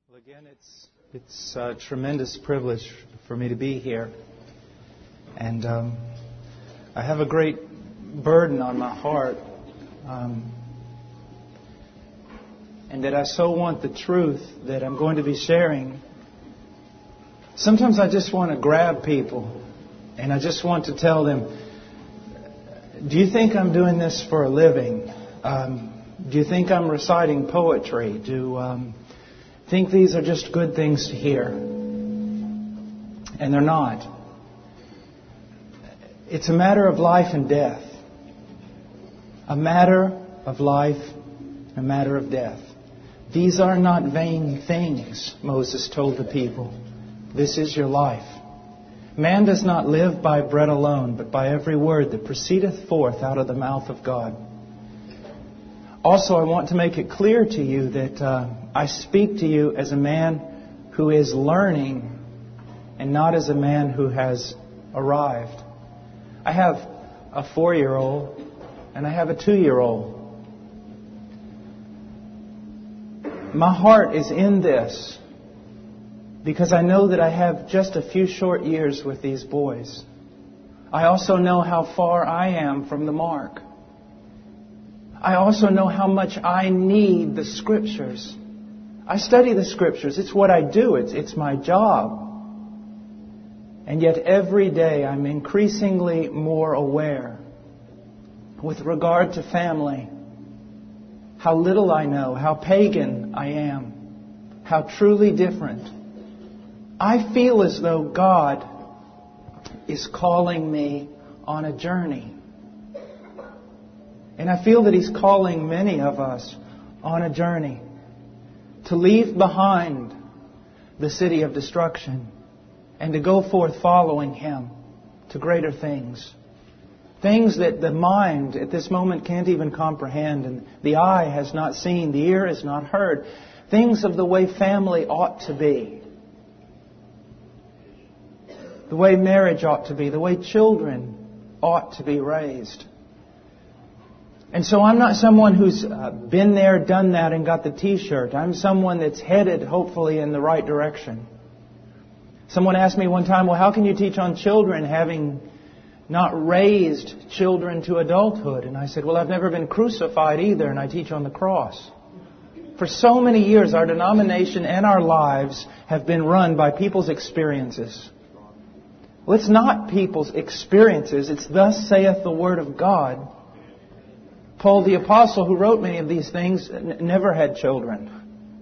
Well, again, it's a tremendous privilege for me to be here. And I have a great burden on my heart. And that I so want the truth that I'm going to be sharing. Sometimes I just want to grab people and I just want to tell them, do you think I'm doing this for a living? Do you think I'm reciting poetry? Do you think these are just good things to hear? And they're not. It's a matter of life and death. A matter of life, a matter of death. These are not vain things, Moses told the people. This is your life. Man does not live by bread alone, but by every word that proceedeth forth out of the mouth of God. Also, I want to make it clear to you that I speak to you as a man who is learning and not as a man who has arrived. I have a 4-year-old and I have a 2-year-old. My heart is in this because I know that I have just a few short years with these boys. I also know how far I am from the mark. I also know how much I need the Scriptures. I study the Scriptures. It's what I do. It's my job. And yet every day I'm increasingly more aware with regard to family, how little I know, how pagan I am, how truly different. I feel as though God is calling me on a journey. And I feel that He's calling many of us on a journey to leave behind the city of destruction and to go forth following Him to greater things. Things that the mind at this moment can't even comprehend, and the eye has not seen, the ear has not heard. Things of the way family ought to be. The way marriage ought to be. The way children ought to be raised. And so I'm not someone who's been there, done that, and got the T-shirt. I'm someone that's headed, hopefully, in the right direction. Someone asked me one time, well, how can you teach on children having not raised children to adulthood? And I said, well, I've never been crucified either, and I teach on the cross. For so many years, our denomination and our lives have been run by people's experiences. Well, it's not people's experiences. It's thus saith the Word of God. Paul the Apostle, who wrote many of these things, never had children.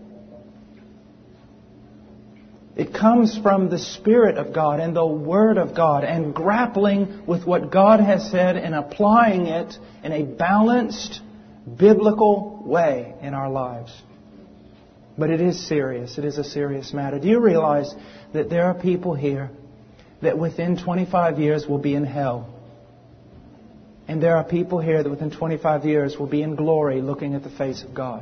It comes from the Spirit of God and the Word of God and grappling with what God has said and applying it in a balanced, biblical way in our lives. But it is serious. It is a serious matter. Do you realize that there are people here that within 25 years will be in hell? And there are people here that within 25 years will be in glory looking at the face of God.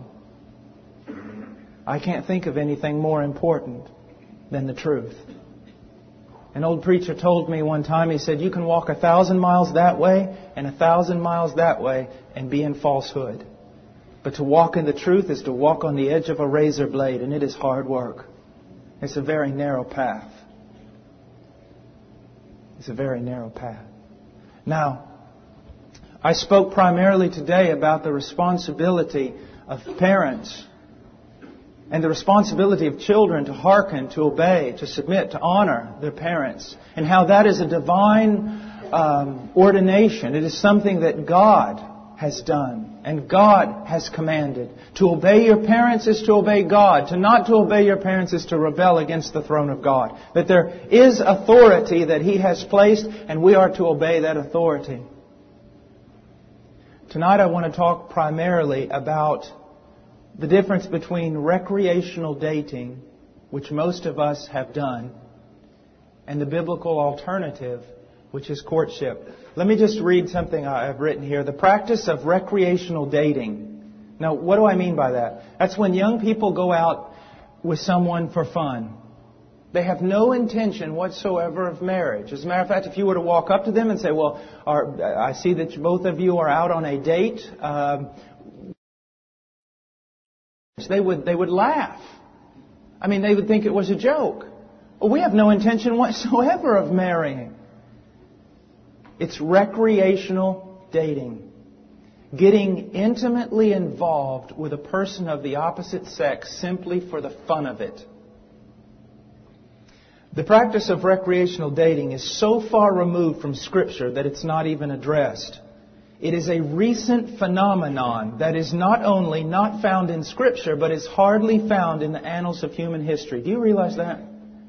I can't think of anything more important than the truth. An old preacher told me one time, he said, you can walk 1,000 miles that way and 1,000 miles that way and be in falsehood. But to walk in the truth is to walk on the edge of a razor blade, and it is hard work. It's a very narrow path. It's a very narrow path. Now, I spoke primarily today about the responsibility of parents and the responsibility of children to hearken, to obey, to submit, to honor their parents, and how that is a divine ordination. It is something that God has done and God has commanded. To obey your parents is to obey God. To not to obey your parents is to rebel against the throne of God. That there is authority that He has placed, and we are to obey that authority. Tonight I want to talk primarily about the difference between recreational dating, which most of us have done, and the biblical alternative, which is courtship. Let me just read something I've written here. The practice of recreational dating. Now, what do I mean by that? That's when young people go out with someone for fun. They have no intention whatsoever of marriage. As a matter of fact, if you were to walk up to them and say, well, I see that both of you are out on a date, they would laugh. I mean, they would think it was a joke. We have no intention whatsoever of marrying. It's recreational dating. Getting intimately involved with a person of the opposite sex simply for the fun of it. The practice of recreational dating is so far removed from Scripture that it's not even addressed. It is a recent phenomenon that is not only not found in Scripture, but is hardly found in the annals of human history. Do you realize that?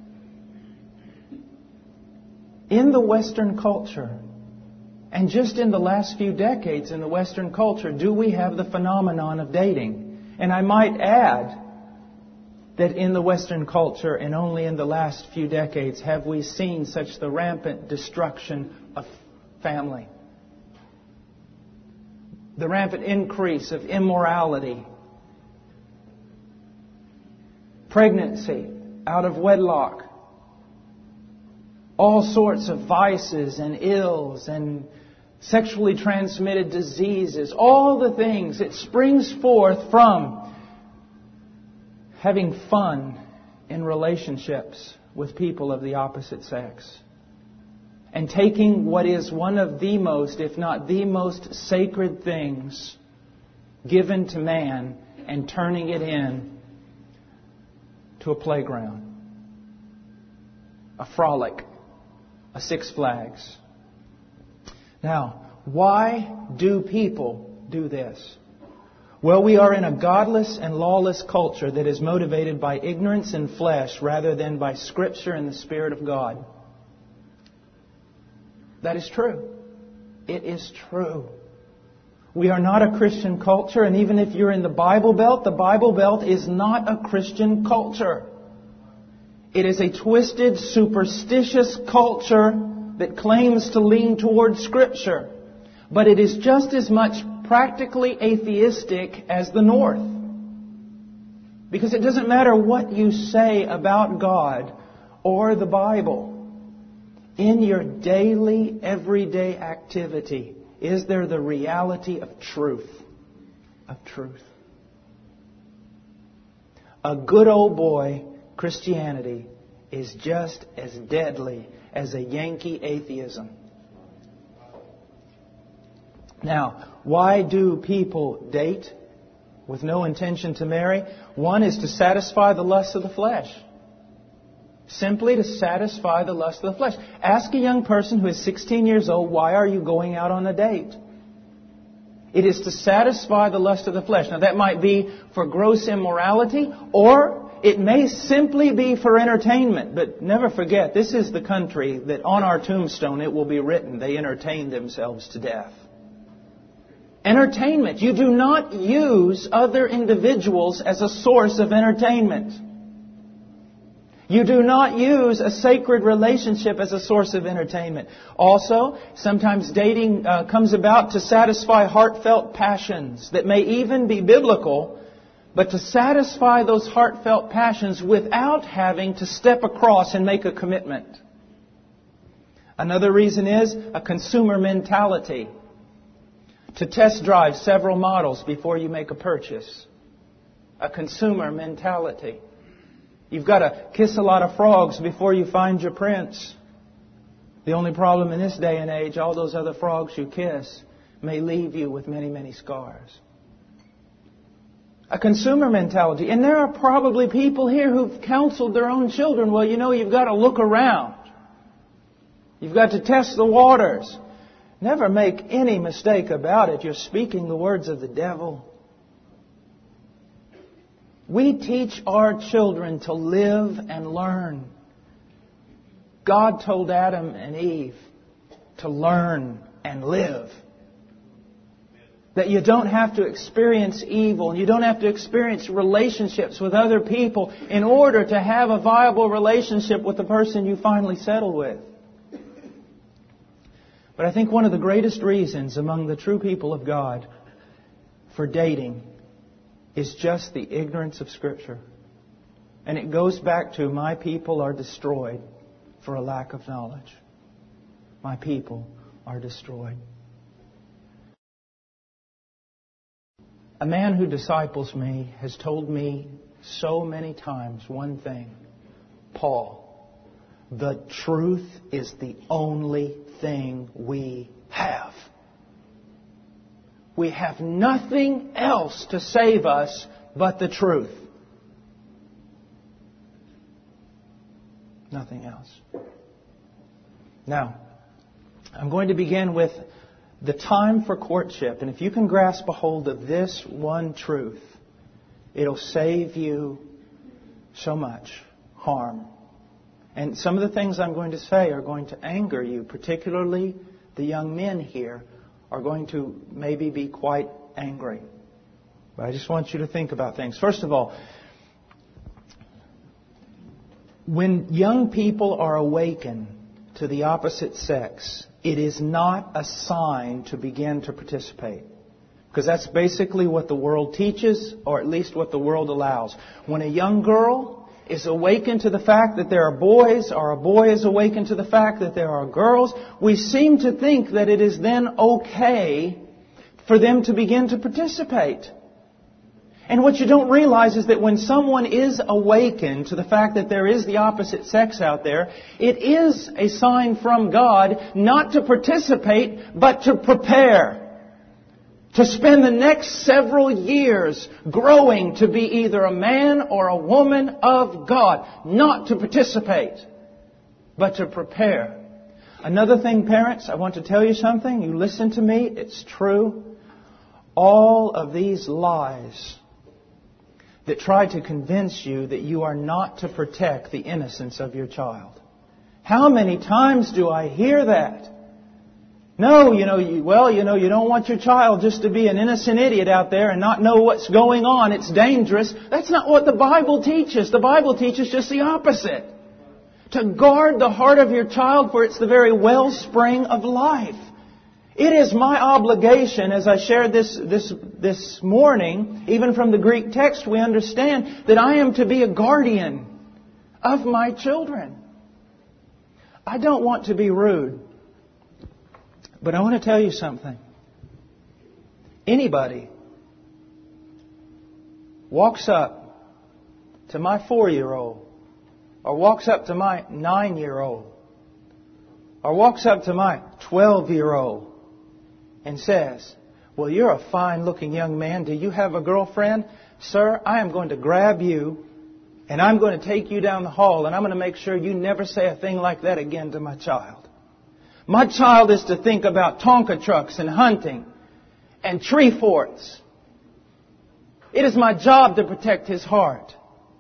In the Western culture, and just in the last few decades in the Western culture, do we have the phenomenon of dating? And I might add that in the Western culture, and only in the last few decades, have we seen such the rampant destruction of family. The rampant increase of immorality, pregnancy out of wedlock, all sorts of vices and ills and sexually transmitted diseases, all the things. It springs forth from having fun in relationships with people of the opposite sex. And taking what is one of the most, if not the most sacred things given to man and turning it in to a playground, a frolic, a Six Flags. Now, why do people do this? Well, we are in a godless and lawless culture that is motivated by ignorance and flesh rather than by Scripture and the Spirit of God. That is true. It is true. We are not a Christian culture, and even if you're in the Bible Belt is not a Christian culture. It is a twisted, superstitious culture that claims to lean towards Scripture. But it is just as much practically atheistic as the North. Because it doesn't matter what you say about God or the Bible. In your daily, everyday activity, is there the reality of truth? Of truth. A good old boy Christianity is just as deadly as a Yankee atheism. Now, why do people date with no intention to marry? One is to satisfy the lust of the flesh. Simply to satisfy the lust of the flesh. Ask a young person who is 16 years old, why are you going out on a date? It is to satisfy the lust of the flesh. Now that might be for gross immorality, or it may simply be for entertainment. But never forget, this is the country that on our tombstone it will be written, they entertained themselves to death. Entertainment. You do not use other individuals as a source of entertainment. You do not use a sacred relationship as a source of entertainment. Also, sometimes dating comes about to satisfy heartfelt passions that may even be biblical, but to satisfy those heartfelt passions without having to step across and make a commitment. Another reason is a consumer mentality. To test drive several models before you make a purchase. A consumer mentality. You've got to kiss a lot of frogs before you find your prince. The only problem in this day and age, all those other frogs you kiss may leave you with many, many scars. A consumer mentality. And there are probably people here who've counseled their own children, well, you know, you've got to look around. You've got to test the waters. Never make any mistake about it. You're speaking the words of the devil. We teach our children to live and learn. God told Adam and Eve to learn and live. That you don't have to experience evil and you don't have to experience relationships with other people in order to have a viable relationship with the person you finally settle with. But I think one of the greatest reasons among the true people of God for dating is just the ignorance of Scripture. And it goes back to, my people are destroyed for a lack of knowledge. My people are destroyed. A man who disciples me has told me so many times one thing. Paul, the truth is the only thing we have. We have nothing else to save us but the truth. Nothing else. Now, I'm going to begin with the time for courtship. And if you can grasp a hold of this one truth, it'll save you so much harm. And some of the things I'm going to say are going to anger you, particularly the young men here are going to maybe be quite angry. But I just want you to think about things. First of all, when young people are awakened to the opposite sex, it is not a sign to begin to participate. Because that's basically what the world teaches, or at least what the world allows. When a young girl is awakened to the fact that there are boys, or a boy is awakened to the fact that there are girls, we seem to think that it is then okay for them to begin to participate. And what you don't realize is that when someone is awakened to the fact that there is the opposite sex out there, it is a sign from God not to participate, but to prepare. To spend the next several years growing to be either a man or a woman of God. Not to participate, but to prepare. Another thing, parents, I want to tell you something. You listen to me. It's true. All of these lies that try to convince you that you are not to protect the innocence of your child. How many times do I hear that? No, you don't want your child just to be an innocent idiot out there and not know what's going on. It's dangerous. That's not what the Bible teaches. The Bible teaches just the opposite. To guard the heart of your child, for it's the very wellspring of life. It is my obligation, as I shared this morning, even from the Greek text, we understand that I am to be a guardian of my children. I don't want to be rude, but I want to tell you something. Anybody walks up to my 4-year-old, or walks up to my 9-year-old, or walks up to my 12-year-old, and says, well, you're a fine-looking young man. Do you have a girlfriend? Sir, I am going to grab you, and I'm going to take you down the hall, and I'm going to make sure you never say a thing like that again to my child. My child is to think about Tonka trucks and hunting and tree forts. It is my job to protect his heart.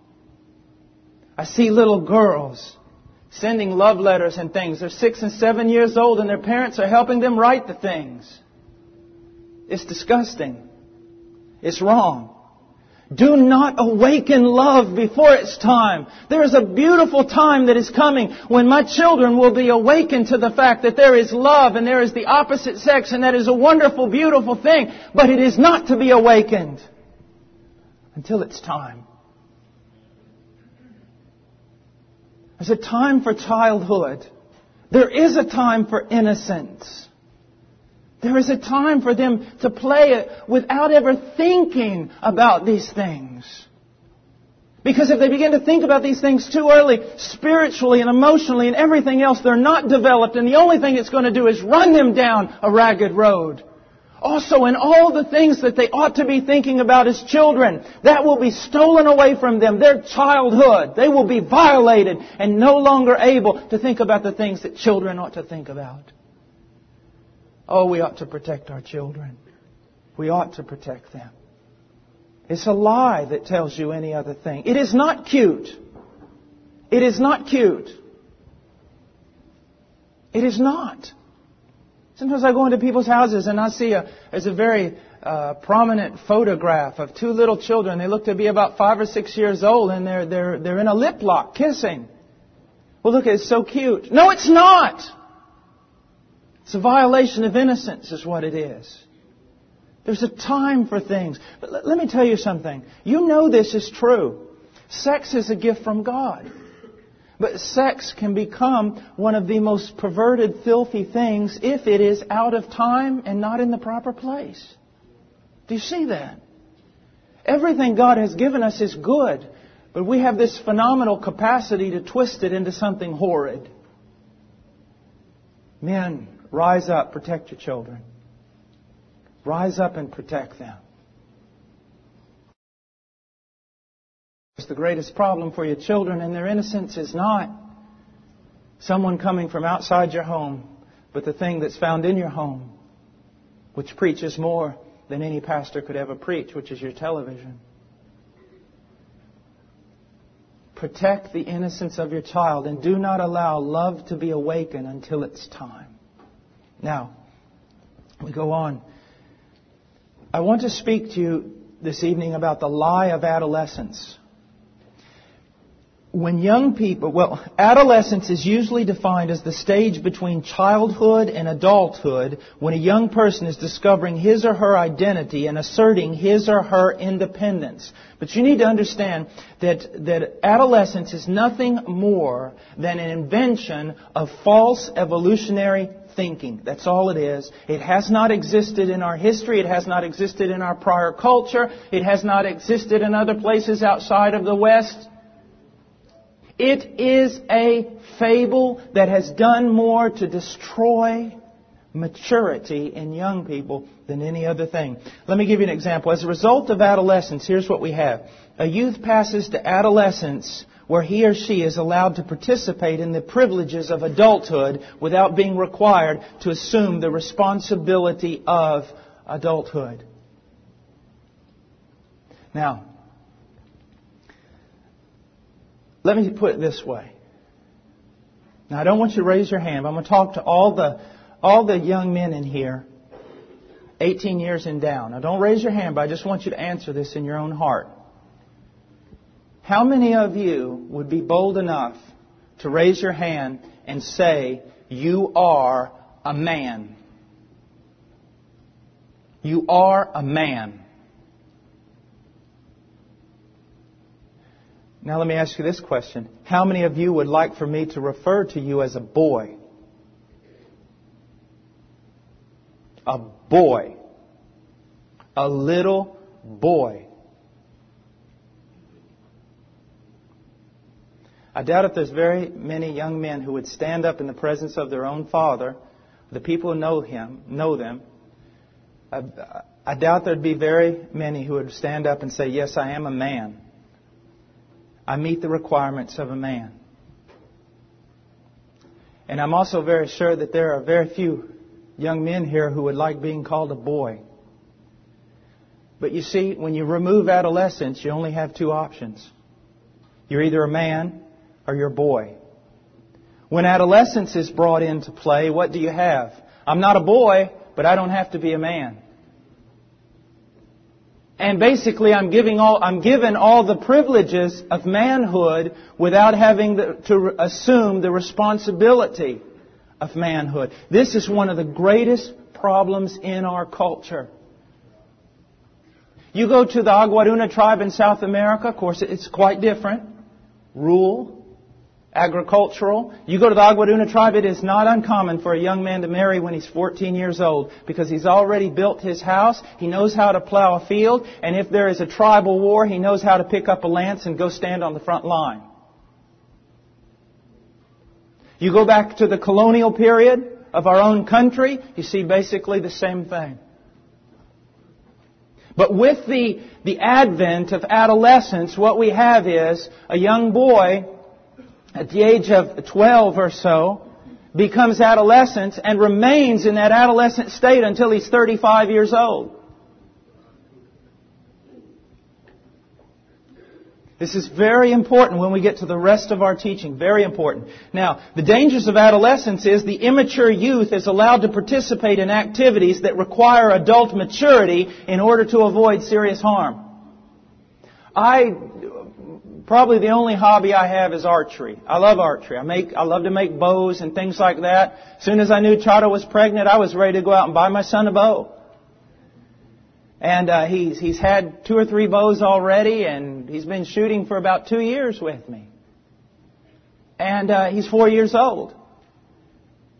I see little girls sending love letters and things. They're 6 and 7 years old, and their parents are helping them write the things. It's disgusting. It's wrong. Do not awaken love before its time. There is a beautiful time that is coming when my children will be awakened to the fact that there is love and there is the opposite sex, and that is a wonderful, beautiful thing. But it is not to be awakened until it's time. There's a time for childhood. There is a time for innocence. There is a time for them to play it without ever thinking about these things. Because if they begin to think about these things too early, spiritually and emotionally and everything else, they're not developed. And the only thing it's going to do is run them down a ragged road. Also, in all the things that they ought to be thinking about as children, that will be stolen away from them. Their childhood. They will be violated and no longer able to think about the things that children ought to think about. Oh, we ought to protect our children. We ought to protect them. It's a lie that tells you any other thing. It is not cute. It is not cute. It is not. Sometimes I go into people's houses and I see there's a very prominent photograph of 2 little children. They look to be about 5 or 6 years old, and they're in a lip lock, kissing. Well, look, it's so cute. No, it's not. It's a violation of innocence is what it is. There's a time for things. But let me tell you something. You know this is true. Sex is a gift from God. But sex can become one of the most perverted, filthy things if it is out of time and not in the proper place. Do you see that? Everything God has given us is good, but we have this phenomenal capacity to twist it into something horrid. Men, rise up, protect your children. Rise up and protect them. The greatest problem for your children and their innocence is not someone coming from outside your home, but the thing that's found in your home, which preaches more than any pastor could ever preach, which is your television. Protect the innocence of your child and do not allow love to be awakened until it's time. Now, we go on. I want to speak to you this evening about the lie of adolescence. When young people, adolescence is usually defined as the stage between childhood and adulthood when a young person is discovering his or her identity and asserting his or her independence. But you need to understand that adolescence is nothing more than an invention of false evolutionary thinking. That's all it is. It has not existed in our history. It has not existed in our prior culture. It has not existed in other places outside of the West. It is a fable that has done more to destroy maturity in young people than any other thing. Let me give you an example. As a result of adolescence, here's what we have. A youth passes to adolescence where he or she is allowed to participate in the privileges of adulthood without being required to assume the responsibility of adulthood. Now, let me put it this way. Now, I don't want you to raise your hand. I'm going to talk to all the young men in here, 18 years and down. Now, don't raise your hand, but I just want you to answer this in your own heart. How many of you would be bold enough to raise your hand and say, you are a man? You are a man. Now let me ask you this question. How many of you would like for me to refer to you as a boy? A boy. A little boy. I doubt if there's very many young men who would stand up in the presence of their own father, the people who know them. I doubt there'd be very many who would stand up and say, yes, I am a man. I meet the requirements of a man. And I'm also very sure that there are very few young men here who would like being called a boy. But you see, when you remove adolescence, you only have two options. You're either a man or you're a boy. When adolescence is brought into play, what do you have? I'm not a boy, but I don't have to be a man. And basically, I'm given all the privileges of manhood without having to assume the responsibility of manhood. This is one of the greatest problems in our culture. You go to the Aguaruna tribe in South America, of course, it's quite different. Rural, agricultural. You go to the Aguaruna tribe, it is not uncommon for a young man to marry when he's 14 years old because he's already built his house, he knows how to plow a field, and if there is a tribal war, he knows how to pick up a lance and go stand on the front line. You go back to the colonial period of our own country, you see basically the same thing. But with the advent of adolescence, what we have is a young boy at the age of 12 or so, becomes adolescent and remains in that adolescent state until he's 35 years old. This is very important when we get to the rest of our teaching. Very important. Now, the dangers of adolescence is the immature youth is allowed to participate in activities that require adult maturity in order to avoid serious harm. Probably the only hobby I have is archery. I love archery. I love to make bows and things like that. As soon as I knew Chada was pregnant, I was ready to go out and buy my son a bow. And he's had 2 or 3 bows already, and he's been shooting for about 2 years with me. And he's 4 years old.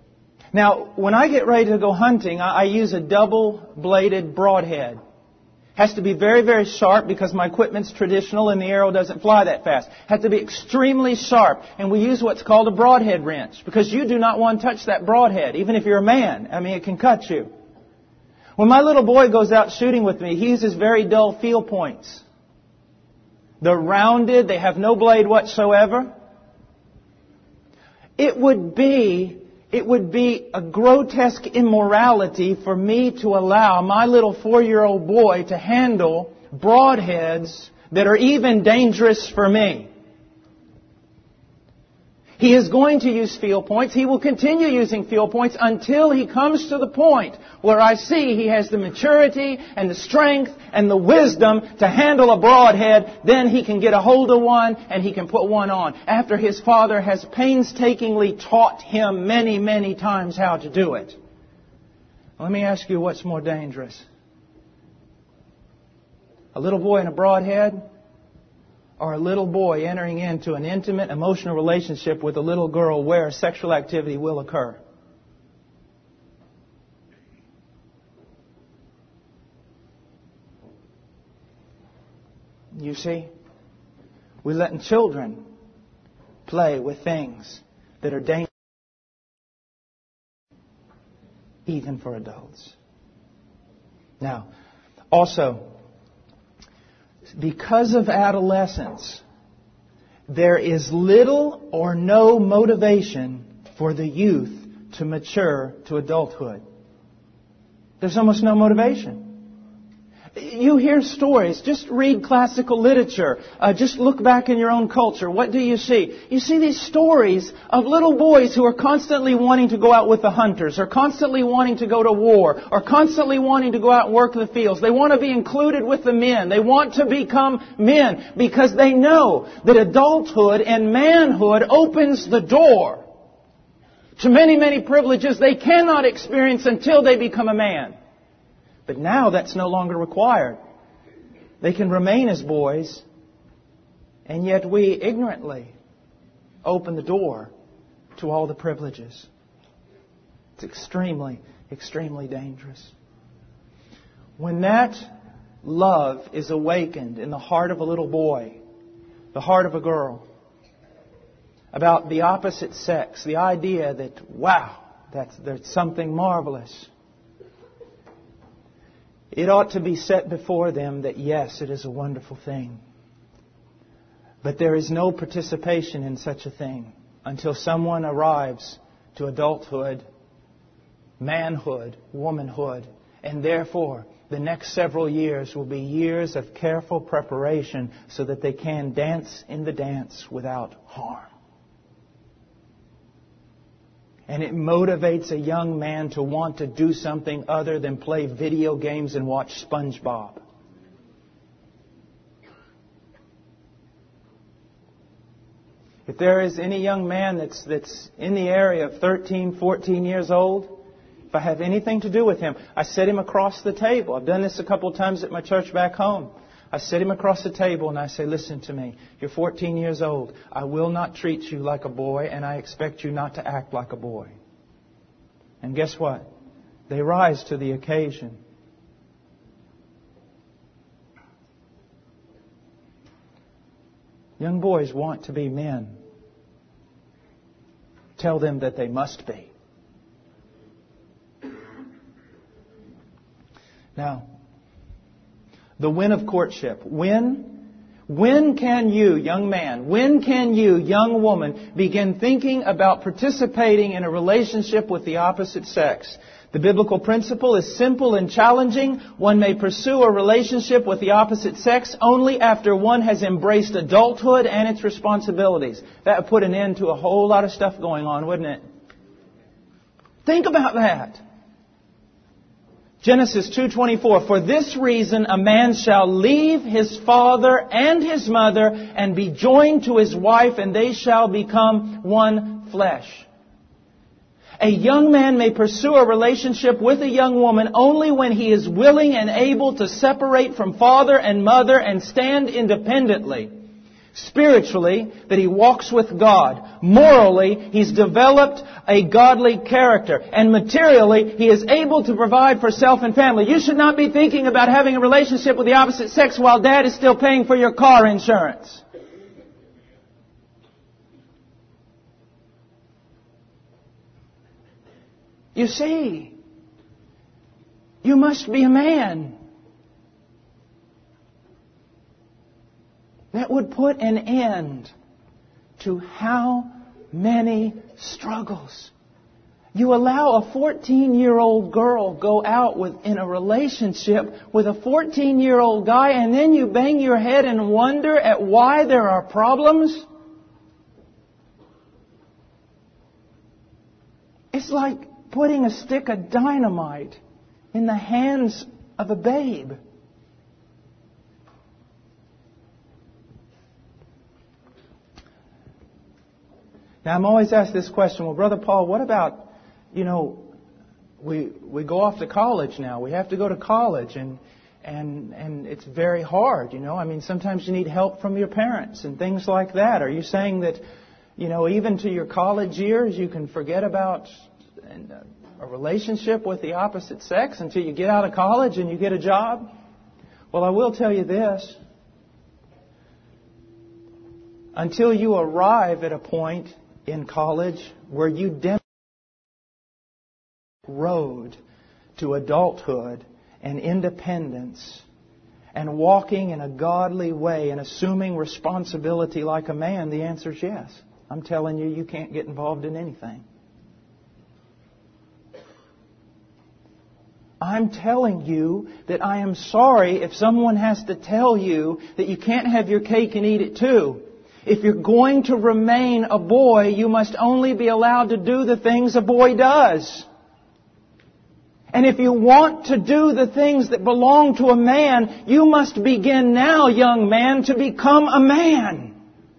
Now, when I get ready to go hunting, I use a double-bladed broadhead. Has to be very, very sharp because my equipment's traditional and the arrow doesn't fly that fast. Has to be extremely sharp. And we use what's called a broadhead wrench because you do not want to touch that broadhead, even if you're a man. I mean, it can cut you. When my little boy goes out shooting with me, he uses very dull field points. They're rounded. They have no blade whatsoever. It would be a grotesque immorality for me to allow my little 4-year-old boy to handle broadheads that are even dangerous for me. He is going to use field points. He will continue using field points until he comes to the point where I see he has the maturity and the strength and the wisdom to handle a broadhead. Then he can get a hold of one and he can put one on. After his father has painstakingly taught him many, many times how to do it. Let me ask you what's more dangerous. A little boy in a broadhead? Or a little boy entering into an intimate, emotional relationship with a little girl where sexual activity will occur? You see, we're letting children play with things that are dangerous even for adults. Now, also, because of adolescence, there is little or no motivation for the youth to mature to adulthood. There's almost no motivation. You hear stories. Just read classical literature. Just look back in your own culture. What do you see? You see these stories of little boys who are constantly wanting to go out with the hunters, or constantly wanting to go to war, or constantly wanting to go out and work in the fields. They want to be included with the men. They want to become men because they know that adulthood and manhood opens the door to many, many privileges they cannot experience until they become a man. But now that's no longer required. They can remain as boys, and yet we ignorantly open the door to all the privileges. It's extremely, extremely dangerous. When that love is awakened in the heart of a little boy, the heart of a girl, about the opposite sex, the idea that, wow, there's something marvelous. It ought to be set before them that, yes, it is a wonderful thing. But there is no participation in such a thing until someone arrives to adulthood, manhood, womanhood. And therefore, the next several years will be years of careful preparation so that they can dance in the dance without harm. And it motivates a young man to want to do something other than play video games and watch SpongeBob. If there is any young man that's in the area of 13, 14 years old, if I have anything to do with him, I set him across the table. I've done this a couple of times at my church back home. I sit him across the table and I say, listen to me. You're 14 years old. I will not treat you like a boy, and I expect you not to act like a boy. And guess what? They rise to the occasion. Young boys want to be men. Tell them that they must be. Now, the when of courtship. When can you, young man, when can you, young woman, begin thinking about participating in a relationship with the opposite sex? The biblical principle is simple and challenging. One may pursue a relationship with the opposite sex only after one has embraced adulthood and its responsibilities. That would put an end to a whole lot of stuff going on, wouldn't it? Think about that. Genesis 2:24, for this reason a man shall leave his father and his mother and be joined to his wife, and they shall become one flesh. A young man may pursue a relationship with a young woman only when he is willing and able to separate from father and mother and stand independently. Spiritually, that he walks with God. Morally, he's developed a godly character. And materially, he is able to provide for self and family. You should not be thinking about having a relationship with the opposite sex while Dad is still paying for your car insurance. You see, you must be a man. That would put an end to how many struggles. You allow a 14-year-old girl go out in a relationship with a 14-year-old guy, and then you bang your head and wonder at why there are problems? It's like putting a stick of dynamite in the hands of a babe. Now, I'm always asked this question, well, Brother Paul, what about, we go off to college now. We have to go to college, and it's very hard, I mean, sometimes you need help from your parents and things like that. Are you saying that, even to your college years, you can forget about a relationship with the opposite sex until you get out of college and you get a job? Well, I will tell you this. Until you arrive at a point in college where you demonstrate the road to adulthood and independence and walking in a godly way and assuming responsibility like a man, the answer is yes. I'm telling you, you can't get involved in anything. I'm telling you that I am sorry if someone has to tell you that you can't have your cake and eat it too. If you're going to remain a boy, you must only be allowed to do the things a boy does. And if you want to do the things that belong to a man, you must begin now, young man, to become a man.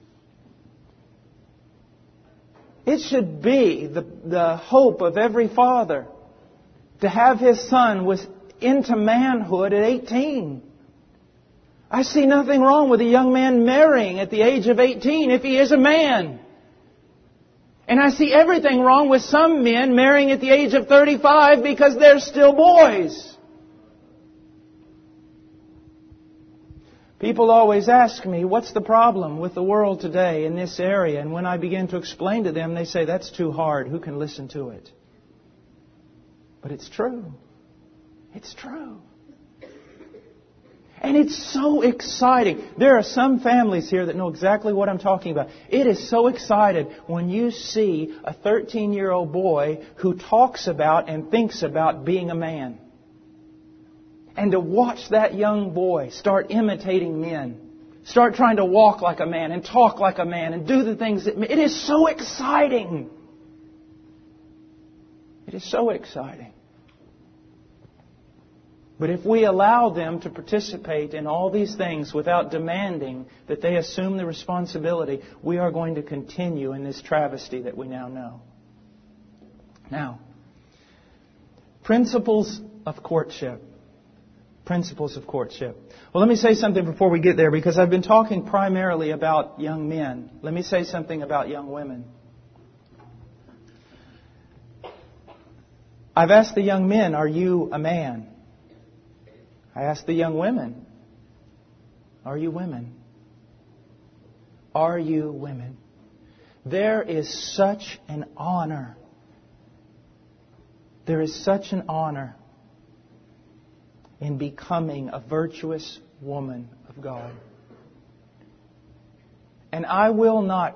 It should be the hope of every father to have his son into manhood at 18. I see nothing wrong with a young man marrying at the age of 18 if he is a man. And I see everything wrong with some men marrying at the age of 35 because they're still boys. People always ask me, what's the problem with the world today in this area? And when I begin to explain to them, they say, that's too hard. Who can listen to it? But it's true. It's true. And it's so exciting. There are some families here that know exactly what I'm talking about. It is so exciting when you see a 13-year-old boy who talks about and thinks about being a man. And to watch that young boy start imitating men. Start trying to walk like a man and talk like a man and do the things that... It is so exciting. It is so exciting. But if we allow them to participate in all these things without demanding that they assume the responsibility, we are going to continue in this travesty that we now know. Now, principles of courtship. Principles of courtship. Well, let me say something before we get there, because I've been talking primarily about young men. Let me say something about young women. I've asked the young men, are you a man? I asked the young women, are you women? Are you women? There is such an honor. There is such an honor in becoming a virtuous woman of God. And I will not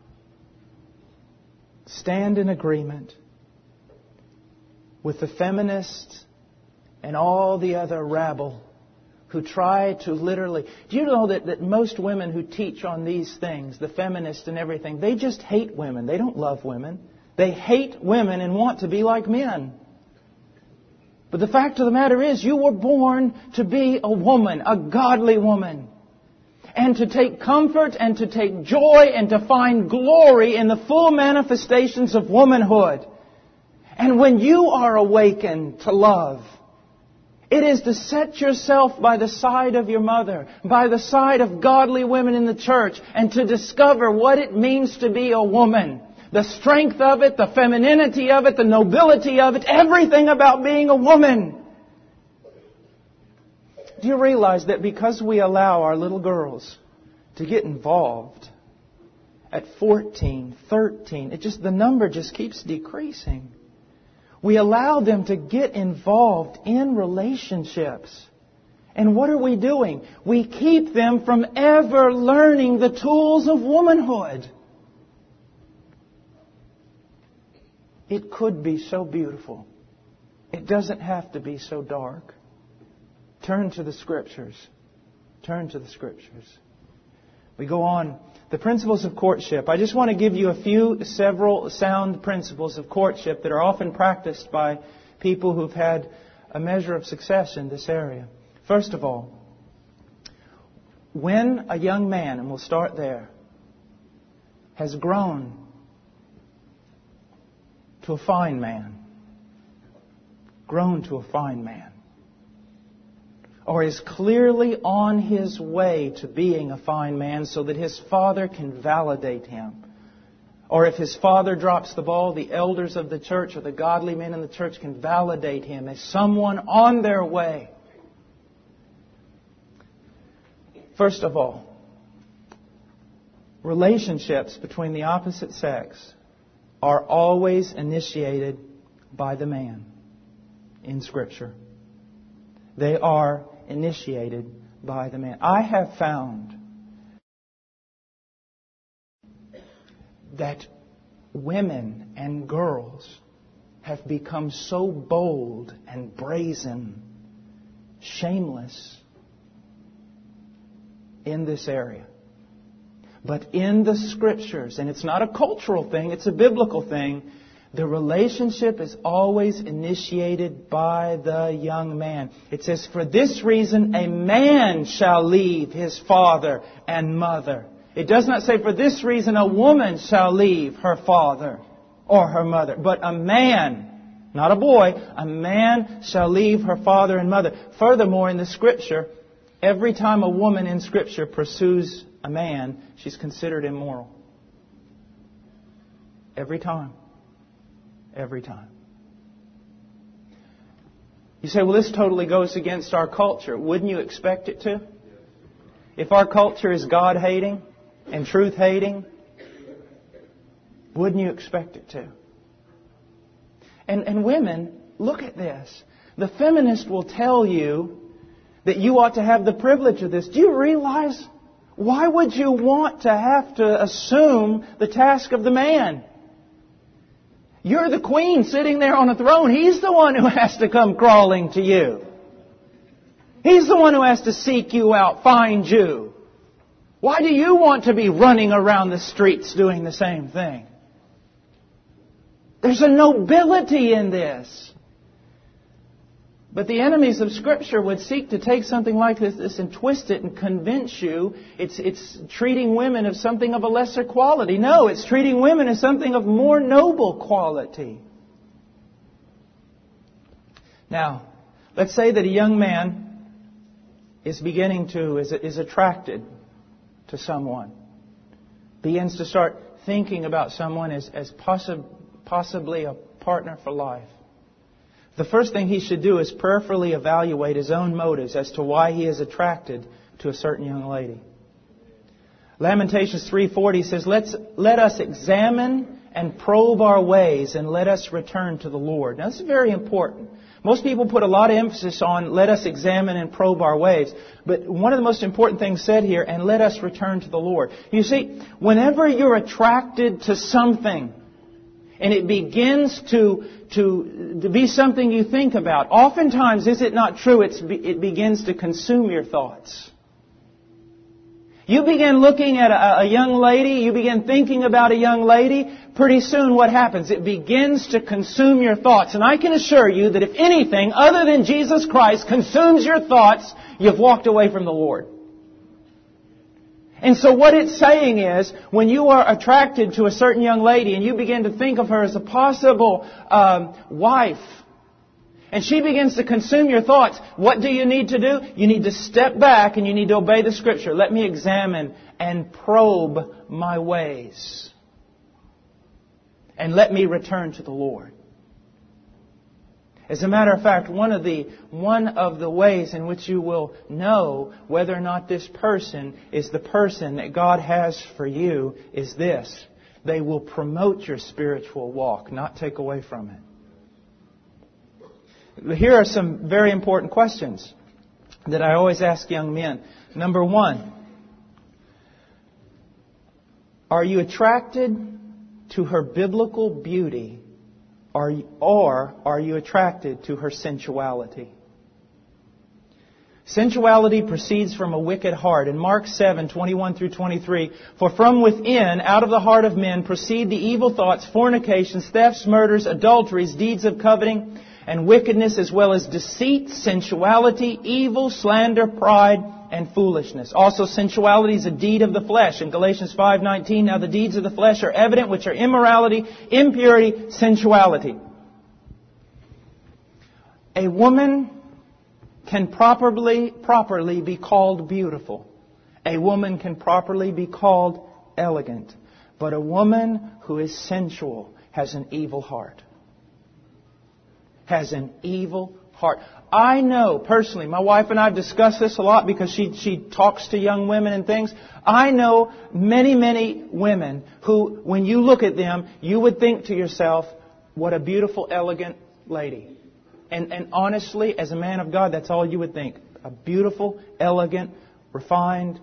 stand in agreement with the feminists and all the other rabble who try to literally... Do you know that most women who teach on these things, the feminists and everything, they just hate women. They don't love women. They hate women and want to be like men. But the fact of the matter is, you were born to be a woman, a godly woman. And to take comfort and to take joy and to find glory in the full manifestations of womanhood. And when you are awakened to love, It is to set yourself by the side of your mother, by the side of godly women in the church, and to discover what it means to be a woman. The strength of it, the femininity of it, the nobility of it, everything about being a woman. Do you realize that because we allow our little girls to get involved at 14, 13, the number just keeps decreasing. We allow them to get involved in relationships. And what are we doing? We keep them from ever learning the tools of womanhood. It could be so beautiful. It doesn't have to be so dark. Turn to the Scriptures. Turn to the Scriptures. We go on. The principles of courtship. I just want to give you several sound principles of courtship that are often practiced by people who've had a measure of success in this area. First of all, when a young man, and we'll start there, has grown to a fine man, or is clearly on his way to being a fine man so that his father can validate him. Or if his father drops the ball, the elders of the church or the godly men in the church can validate him as someone on their way. First of all, relationships between the opposite sex are always initiated by the man in Scripture. They are initiated by the man. I have found that women and girls have become so bold and brazen, shameless in this area. But in the Scriptures, and it's not a cultural thing, it's a biblical thing, the relationship is always initiated by the young man. It says, for this reason a man shall leave his father and mother. It does not say, for this reason a woman shall leave her father or her mother. But a man, not a boy, a man shall leave her father and mother. Furthermore, in the Scripture, every time a woman in Scripture pursues a man, she's considered immoral. Every time. Every time. You say, well, this totally goes against our culture. Wouldn't you expect it to? If our culture is God-hating and truth-hating, wouldn't you expect it to? And women, look at this. The feminist will tell you that you ought to have the privilege of this. Do you realize, why would you want to have to assume the task of the man? You're the queen sitting there on a throne. He's the one who has to come crawling to you. He's the one who has to seek you out, find you. Why do you want to be running around the streets doing the same thing? There's a nobility in this. But the enemies of Scripture would seek to take something like this and twist it and convince you it's treating women of something of a lesser quality. No, it's treating women as something of more noble quality. Now, let's say that a young man is attracted to someone, begins to start thinking about someone as possibly a partner for life. The first thing he should do is prayerfully evaluate his own motives as to why he is attracted to a certain young lady. Lamentations 3:40 says, let us examine and probe our ways and let us return to the Lord. Now this is very important. Most people put a lot of emphasis on let us examine and probe our ways. But one of the most important things said here, and let us return to the Lord. You see, whenever you're attracted to something, and it begins to be something you think about, oftentimes, is it not true, it begins to consume your thoughts. You begin looking at a young lady, you begin thinking about a young lady, pretty soon what happens? It begins to consume your thoughts. And I can assure you that if anything other than Jesus Christ consumes your thoughts, you've walked away from the Lord. And so what it's saying is, when you are attracted to a certain young lady and you begin to think of her as a possible wife, and she begins to consume your thoughts, what do you need to do? You need to step back and you need to obey the Scripture. Let me examine and probe my ways. And let me return to the Lord. As a matter of fact, one of the ways in which you will know whether or not this person is the person that God has for you is this. They will promote your spiritual walk, not take away from it. Here are some very important questions that I always ask young men. Number one, are you attracted to her biblical beauty, or are you attracted to her sensuality? Sensuality proceeds from a wicked heart. In Mark 7:21 through 23, for from within, out of the heart of men, proceed the evil thoughts, fornications, thefts, murders, adulteries, deeds of coveting, and wickedness, as well as deceit, sensuality, evil, slander, pride, and foolishness. Also, sensuality is a deed of the flesh. In Galatians 5:19, now the deeds of the flesh are evident, which are immorality, impurity, sensuality. A woman can properly be called beautiful. A woman can properly be called elegant. But a woman who is sensual has an evil heart. Has an evil heart. I know personally, my wife and I have discussed this a lot because she talks to young women and things. I know many women who, when you look at them, you would think to yourself, what a beautiful, elegant lady. And honestly, as a man of God, that's all you would think. A beautiful, elegant, refined.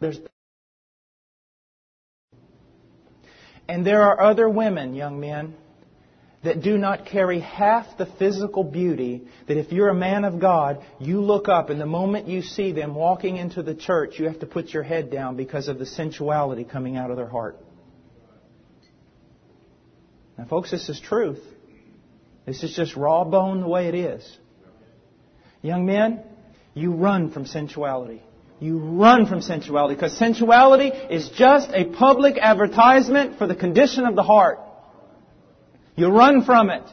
And there are other women, young men, that do not carry half the physical beauty that if you're a man of God, you look up and the moment you see them walking into the church, you have to put your head down because of the sensuality coming out of their heart. Now, folks, this is truth. This is just raw bone the way it is. Young men, you run from sensuality. You run from sensuality because sensuality is just a public advertisement for the condition of the heart. You run from it.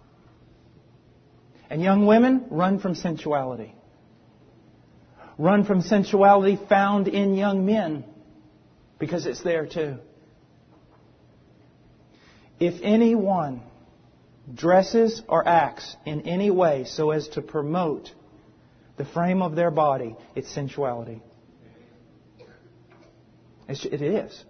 And young women, run from sensuality. Run from sensuality found in young men because it's there too. If anyone dresses or acts in any way so as to promote the frame of their body, it's sensuality. It is.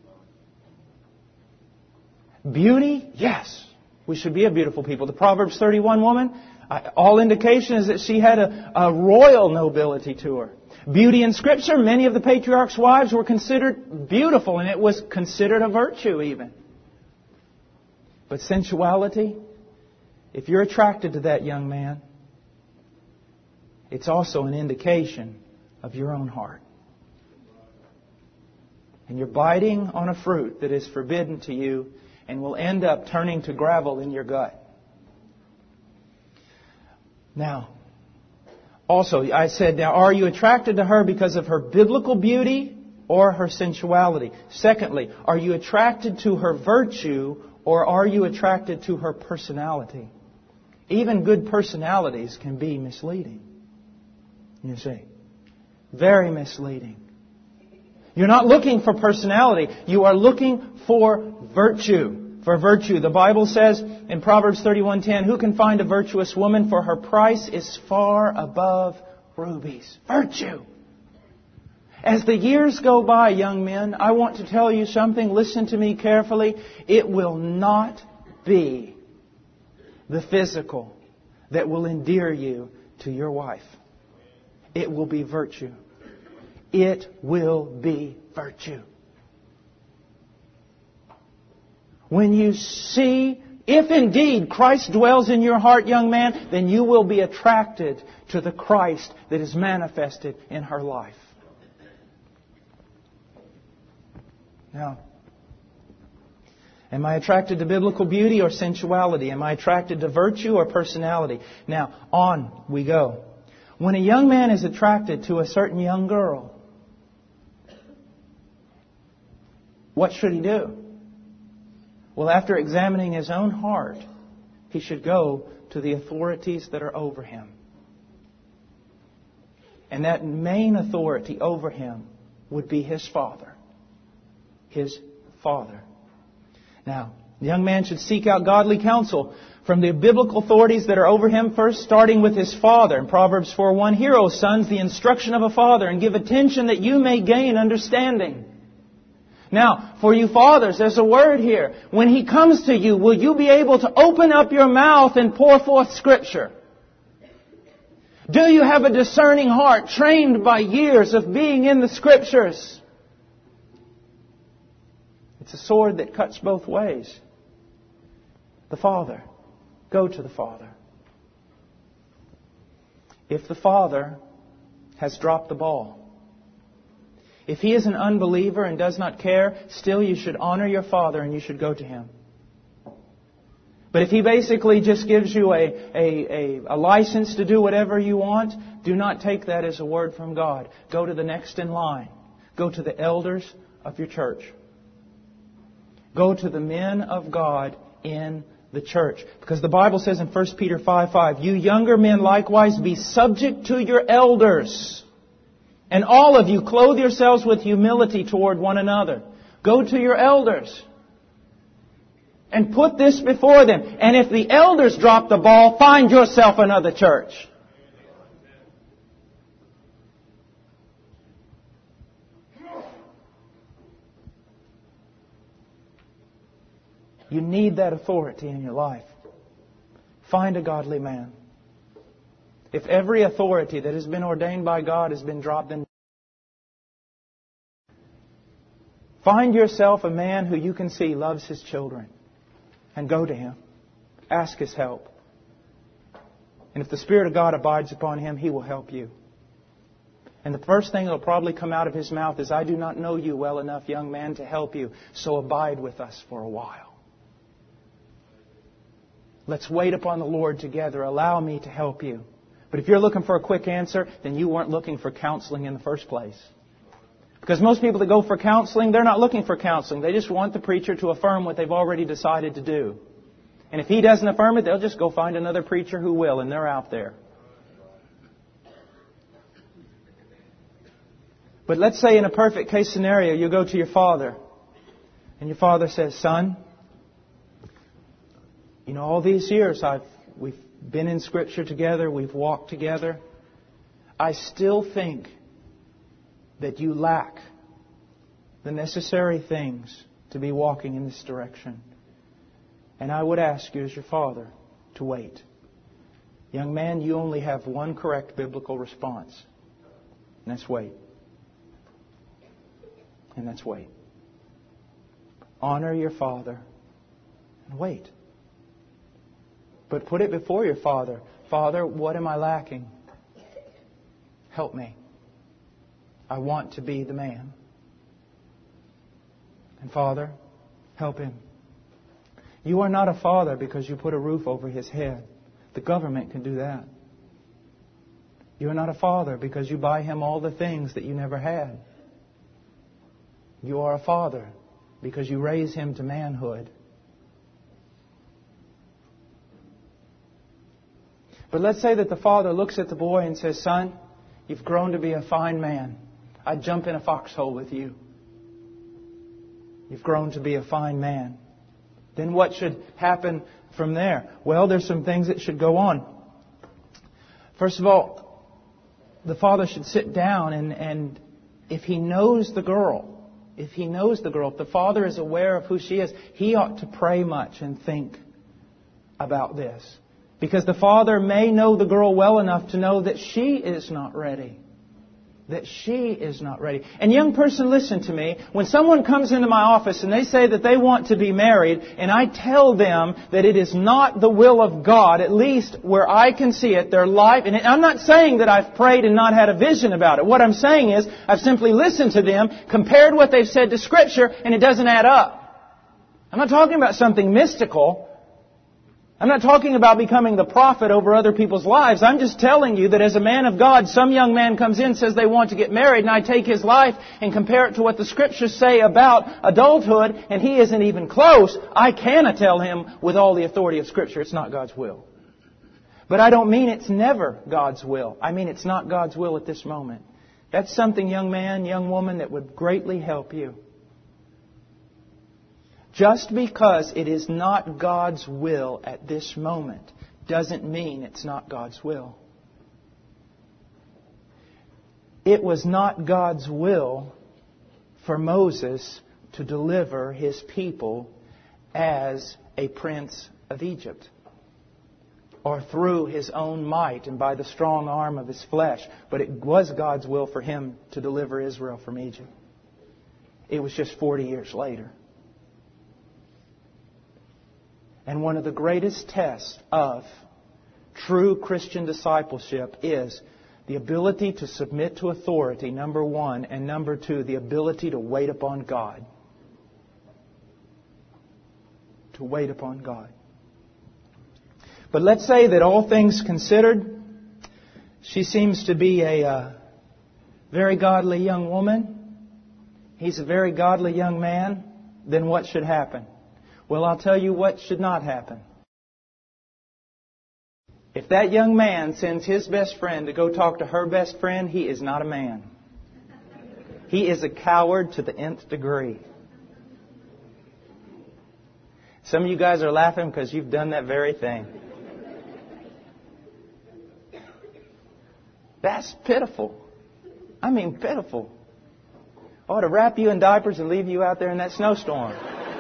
Beauty, yes. We should be a beautiful people. The Proverbs 31 woman, all indication is that she had a royal nobility to her. Beauty in Scripture, many of the patriarchs' wives were considered beautiful, and it was considered a virtue even. But sensuality, if you're attracted to that young man, it's also an indication of your own heart. And you're biting on a fruit that is forbidden to you and will end up turning to gravel in your gut. Now, also, I said, now, are you attracted to her because of her biblical beauty or her sensuality? Secondly, are you attracted to her virtue or are you attracted to her personality? Even good personalities can be misleading. You see, very misleading. You're not looking for personality. You are looking for virtue. For virtue. The Bible says in Proverbs 31:10, who can find a virtuous woman? For her price is far above rubies. Virtue. As the years go by, young men, I want to tell you something. Listen to me carefully. It will not be the physical that will endear you to your wife. It will be virtue. It will be virtue. When you see, if indeed Christ dwells in your heart, young man, then you will be attracted to the Christ that is manifested in her life. Now, am I attracted to biblical beauty or sensuality? Am I attracted to virtue or personality? Now, on we go. When a young man is attracted to a certain young girl, what should he do? Well, after examining his own heart, he should go to the authorities that are over him. And that main authority over him would be his father. His father. Now, the young man should seek out godly counsel from the biblical authorities that are over him, first starting with his father. In Proverbs 4:1, "Hear, O sons, the instruction of a father, and give attention that you may gain understanding." Now, for you fathers, there's a word here. When he comes to you, will you be able to open up your mouth and pour forth Scripture? Do you have a discerning heart, trained by years of being in the Scriptures? It's a sword that cuts both ways. The Father. Go to the Father. If the Father has dropped the ball, if he is an unbeliever and does not care, still you should honor your Father and you should go to him. But if he basically just gives you a license to do whatever you want, do not take that as a word from God. Go to the next in line. Go to the elders of your church. Go to the men of God in the church. Because the Bible says in 1 Peter 5:5, "You younger men likewise be subject to your elders. And all of you clothe yourselves with humility toward one another." Go to your elders. And put this before them. And if the elders drop the ball, find yourself another church. You need that authority in your life. Find a godly man. If every authority that has been ordained by God has been dropped, then find yourself a man who you can see loves his children. And go to him. Ask his help. And if the Spirit of God abides upon him, he will help you. And the first thing that will probably come out of his mouth is, "I do not know you well enough, young man, to help you, so abide with us for a while. Let's wait upon the Lord together. Allow me to help you." But if you're looking for a quick answer, then you weren't looking for counseling in the first place. Because most people that go for counseling, they're not looking for counseling. They just want the preacher to affirm what they've already decided to do. And if he doesn't affirm it, they'll just go find another preacher who will, and they're out there. But let's say in a perfect case scenario, you go to your father, and your father says, "Son, you know, all these years we've been in Scripture together, we've walked together. I still think that you lack the necessary things to be walking in this direction. And I would ask you as your father to wait." Young man, you only have one correct biblical response. And that's wait. And that's wait. Honor your father and wait. But put it before your father. "Father, what am I lacking? Help me. I want to be the man. And Father, help him." You are not a father because you put a roof over his head. The government can do that. You are not a father because you buy him all the things that you never had. You are a father because you raise him to manhood. But let's say that the father looks at the boy and says, "Son, you've grown to be a fine man. I'd jump in a foxhole with you. You've grown to be a fine man." Then what should happen from there? Well, there's some things that should go on. First of all, the father should sit down and if he knows the girl, if the father is aware of who she is, he ought to pray much and think about this. Because the father may know the girl well enough to know that she is not ready. That she is not ready. And young person, listen to me. When someone comes into my office and they say that they want to be married, and I tell them that it is not the will of God, at least where I can see it, their life, and I'm not saying that I've prayed and not had a vision about it. What I'm saying is I've simply listened to them, compared what they've said to Scripture, and it doesn't add up. I'm not talking about something mystical. I'm not talking about becoming the prophet over other people's lives. I'm just telling you that as a man of God, some young man comes in, says they want to get married, and I take his life and compare it to what the Scriptures say about adulthood, and he isn't even close. I cannot tell him with all the authority of Scripture it's not God's will. But I don't mean it's never God's will. I mean it's not God's will at this moment. That's something, young man, young woman, that would greatly help you. Just because it is not God's will at this moment doesn't mean it's not God's will. It was not God's will for Moses to deliver his people as a prince of Egypt, or through his own might and by the strong arm of his flesh. But it was God's will for him to deliver Israel from Egypt. It was just 40 years later. And one of the greatest tests of true Christian discipleship is the ability to submit to authority, number one, and number two, the ability to wait upon God. To wait upon God. But let's say that all things considered, she seems to be a very godly young woman. He's a very godly young man. Then what should happen? Well, I'll tell you what should not happen. If that young man sends his best friend to go talk to her best friend, he is not a man. He is a coward to the nth degree. Some of you guys are laughing because you've done that very thing. That's pitiful. I mean, pitiful. I ought to wrap you in diapers and leave you out there in that snowstorm.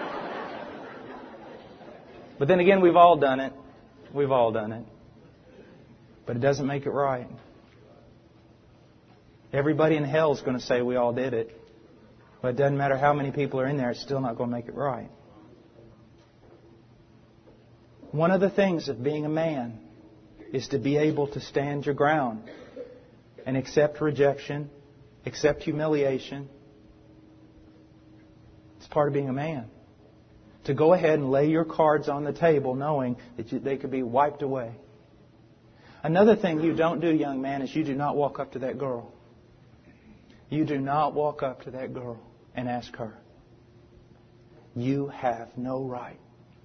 But then again, we've all done it. We've all done it. But it doesn't make it right. Everybody in hell is going to say we all did it. But it doesn't matter how many people are in there, it's still not going to make it right. One of the things of being a man is to be able to stand your ground and accept rejection, accept humiliation. It's part of being a man. To go ahead and lay your cards on the table knowing that they could be wiped away. Another thing you don't do, young man, is you do not walk up to that girl. You do not walk up to that girl and ask her. You have no right.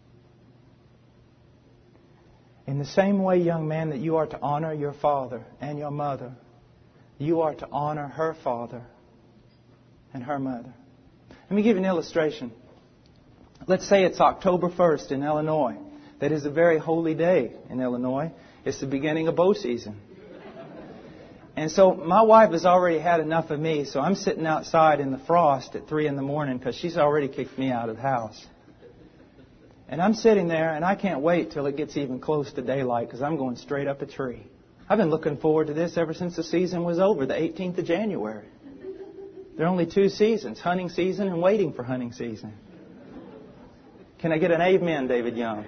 In the same way, young man, that you are to honor your father and your mother, you are to honor her father and her mother. Let me give you an illustration. Let's say it's October 1st in Illinois. That is a very holy day in Illinois. It's the beginning of bow season. And so my wife has already had enough of me, so I'm sitting outside in the frost at 3 in the morning because she's already kicked me out of the house. And I'm sitting there, and I can't wait till it gets even close to daylight because I'm going straight up a tree. I've been looking forward to this ever since the season was over, the 18th of January. There are only 2 seasons, hunting season and waiting for hunting season. Can I get an amen, David Young?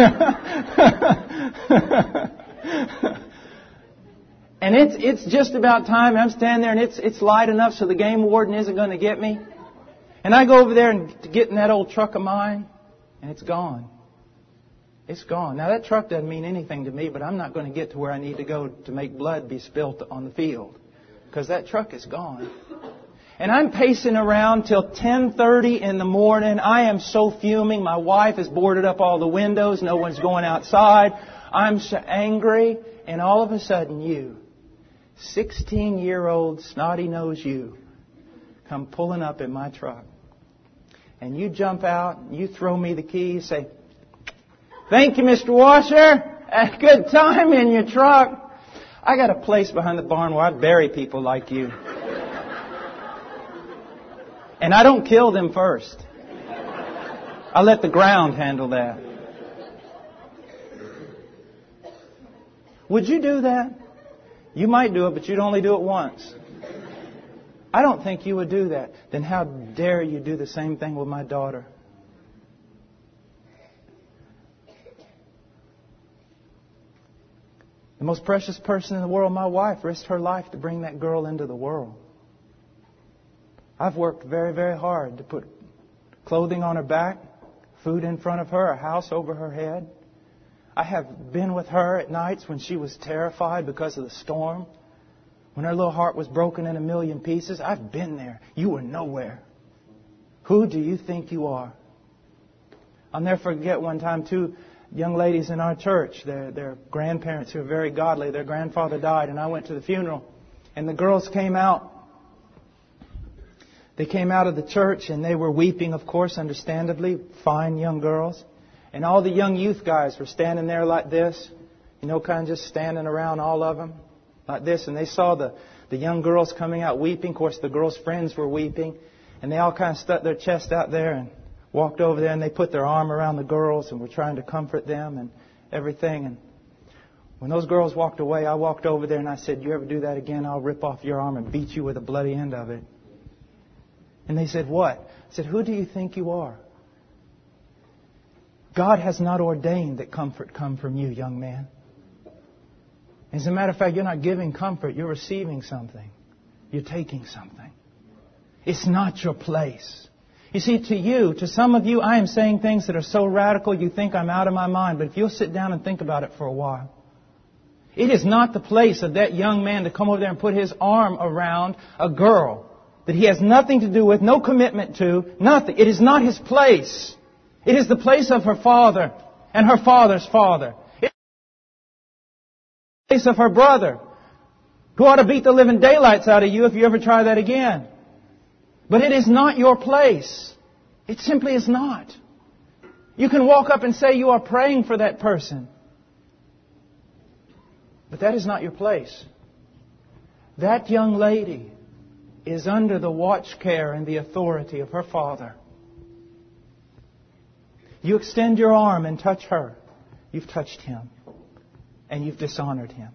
And it's just about time. I'm standing there and it's light enough so the game warden isn't going to get me. And I go over there and get in that old truck of mine, and it's gone. It's gone. Now that truck doesn't mean anything to me, but I'm not going to get to where I need to go to make blood be spilt on the field, because that truck is gone. And I'm pacing around till 10:30 in the morning. I am so fuming. My wife has boarded up all the windows. No one's going outside. I'm so angry. And all of a sudden you, 16-year-old snotty-nosed you, come pulling up in my truck. And you jump out, and you throw me the key, you say, "Thank you, Mr. Washer. A good time in your truck." I got a place behind the barn where I bury people like you. And I don't kill them first. I let the ground handle that. Would you do that? You might do it, but you'd only do it once. I don't think you would do that. Then how dare you do the same thing with my daughter? The most precious person in the world, my wife, risked her life to bring that girl into the world. I've worked very, very hard to put clothing on her back, food in front of her, a house over her head. I have been with her at nights when she was terrified because of the storm. When her little heart was broken in a million pieces. I've been there. You were nowhere. Who do you think you are? I'll never forget one time, two young ladies in our church, their grandparents who are very godly, their grandfather died, and I went to the funeral. And the girls came out. They came out of the church and they were weeping, of course, understandably, fine young girls. And all the young youth guys were standing there like this, kind of just standing around, all of them, like this. And they saw the young girls coming out weeping. Of course, the girls' friends were weeping. And they all kind of stuck their chest out there and walked over there and they put their arm around the girls and were trying to comfort them and everything. And when those girls walked away, I walked over there and I said, "You ever do that again, I'll rip off your arm and beat you with the bloody end of it." And they said, "What?" I said, "Who do you think you are? God has not ordained that comfort come from you, young man. As a matter of fact, you're not giving comfort. You're receiving something. You're taking something. It's not your place." You see, to some of you, I am saying things that are so radical you think I'm out of my mind. But if you'll sit down and think about it for a while, it is not the place of that young man to come over there and put his arm around a girl that he has nothing to do with, no commitment to, nothing. It is not his place. It is the place of her father and her father's father. It is the place of her brother, who ought to beat the living daylights out of you if you ever try that again. But it is not your place. It simply is not. You can walk up and say you are praying for that person. But that is not your place. That young lady is under the watch care and the authority of her father. You extend your arm and touch her. You've touched him. And you've dishonored him.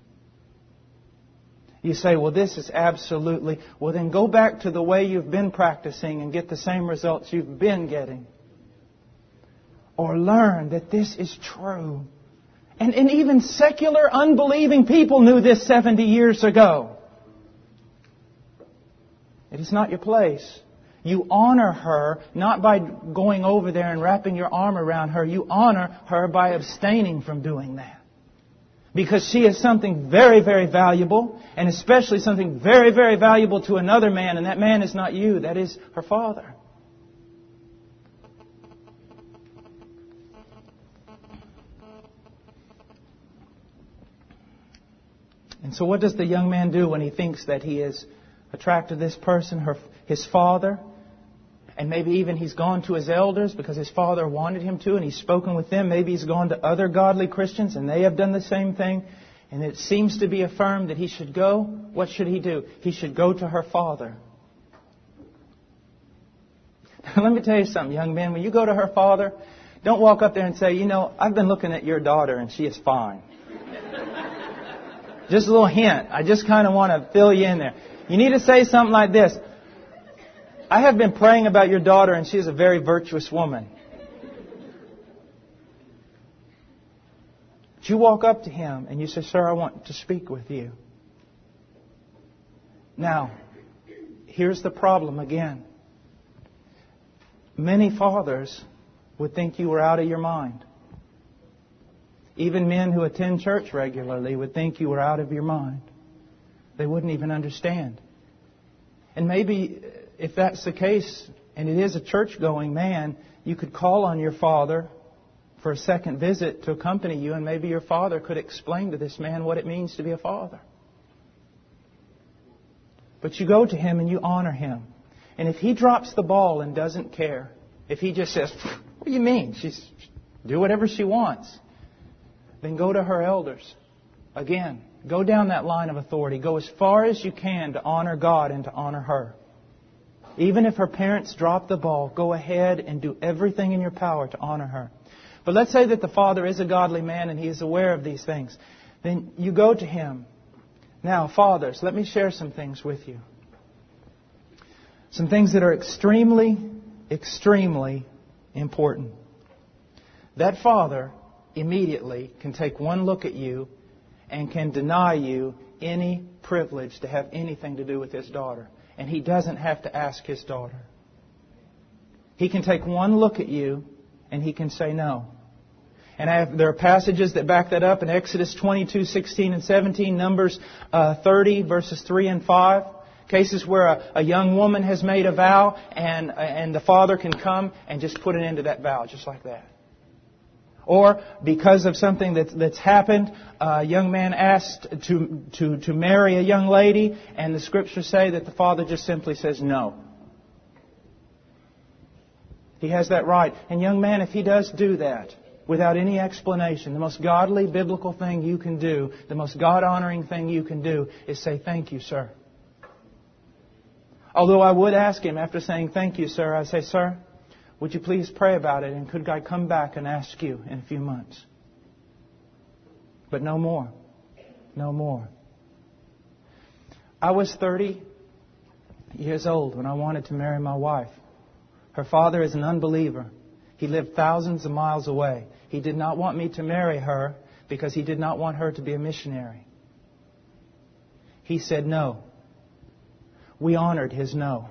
You say, "Well, this is absolutely..." Well, then go back to the way you've been practicing and get the same results you've been getting. Or learn that this is true. And even secular, unbelieving people knew this 70 years ago. It is not your place. You honor her not by going over there and wrapping your arm around her. You honor her by abstaining from doing that. Because she is something very, very valuable, and especially something very, very valuable to another man, and that man is not you, that is her father. And so what does the young man do when he thinks that he is attracted to this person, his father? And maybe even he's gone to his elders because his father wanted him to, and he's spoken with them. Maybe he's gone to other godly Christians and they have done the same thing. And it seems to be affirmed that he should go. What should he do? He should go to her father. Now, let me tell you something, young man. When you go to her father, don't walk up there and say, "I've been looking at your daughter and she is fine." Just a little hint. I just kind of want to fill you in there. You need to say something like this: "I have been praying about your daughter and she is a very virtuous woman." But you walk up to him and you say, "Sir, I want to speak with you." Now, here's the problem again. Many fathers would think you were out of your mind. Even men who attend church regularly would think you were out of your mind. They wouldn't even understand. And maybe if that's the case, and it is a church-going man, you could call on your father for a second visit to accompany you, and maybe your father could explain to this man what it means to be a father. But you go to him and you honor him. And if he drops the ball and doesn't care, if he just says, "What do you mean? She's do whatever she wants," then go to her elders. Again, go down that line of authority. Go as far as you can to honor God and to honor her. Even if her parents drop the ball, go ahead and do everything in your power to honor her. But let's say that the father is a godly man and he is aware of these things. Then you go to him. Now, fathers, let me share some things with you. Some things that are extremely, extremely important. That father immediately can take one look at you and can deny you any privilege to have anything to do with his daughter. And he doesn't have to ask his daughter. He can take one look at you and he can say no. And there are passages that back that up in Exodus 22:16 and 17, Numbers 30, verses 3 and 5. Cases where a young woman has made a vow and the father can come and just put an end to that vow, just like that. Or because of something that's happened, a young man asked to marry a young lady, and the Scriptures say that the father just simply says no. He has that right. And young man, if he does do that without any explanation, the most godly, biblical thing you can do, the most God-honoring thing you can do is say, "Thank you, sir." Although I would ask him after saying, "Thank you, sir," I'd say, "Sir, would you please pray about it, and could I come back and ask you in a few months?" But no more. No more. I was 30 years old when I wanted to marry my wife. Her father is an unbeliever. He lived thousands of miles away. He did not want me to marry her because he did not want her to be a missionary. He said no. We honored his no.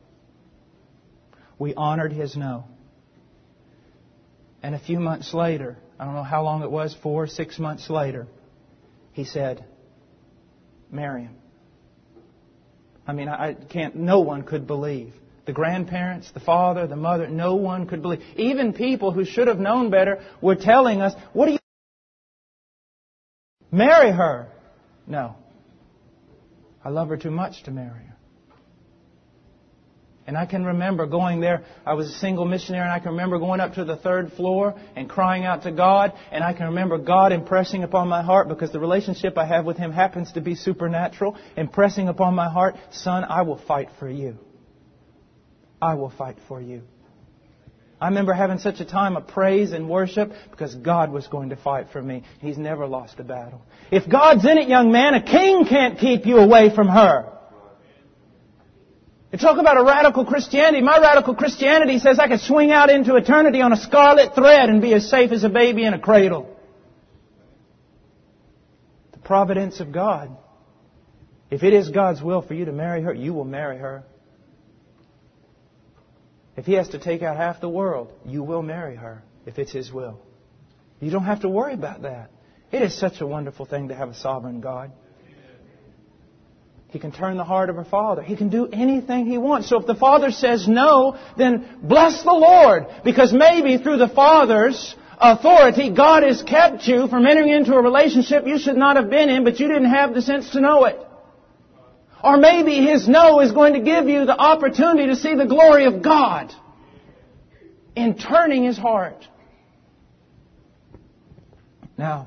We honored his no. And a few months later, I don't know how long it was, 4 or 6 months later, he said, "Marry him." I mean, no one could believe. The grandparents, the father, the mother, no one could believe. Even people who should have known better were telling us, "What do you marry her?" No. I love her too much to marry her. And I can remember going there. I was a single missionary, and I can remember going up to the 3rd floor and crying out to God. And I can remember God impressing upon my heart, because the relationship I have with Him happens to be supernatural, impressing upon my heart, "Son, I will fight for you. I will fight for you." I remember having such a time of praise and worship because God was going to fight for me. He's never lost a battle. If God's in it, young man, a king can't keep you away from her. You talk about a radical Christianity. My radical Christianity says I could swing out into eternity on a scarlet thread and be as safe as a baby in a cradle. The providence of God. If it is God's will for you to marry her, you will marry her. If He has to take out half the world, you will marry her if it's His will. You don't have to worry about that. It is such a wonderful thing to have a sovereign God. He can turn the heart of her father. He can do anything He wants. So if the father says no, then bless the Lord. Because maybe through the father's authority, God has kept you from entering into a relationship you should not have been in, but you didn't have the sense to know it. Or maybe His no is going to give you the opportunity to see the glory of God in turning His heart. Now,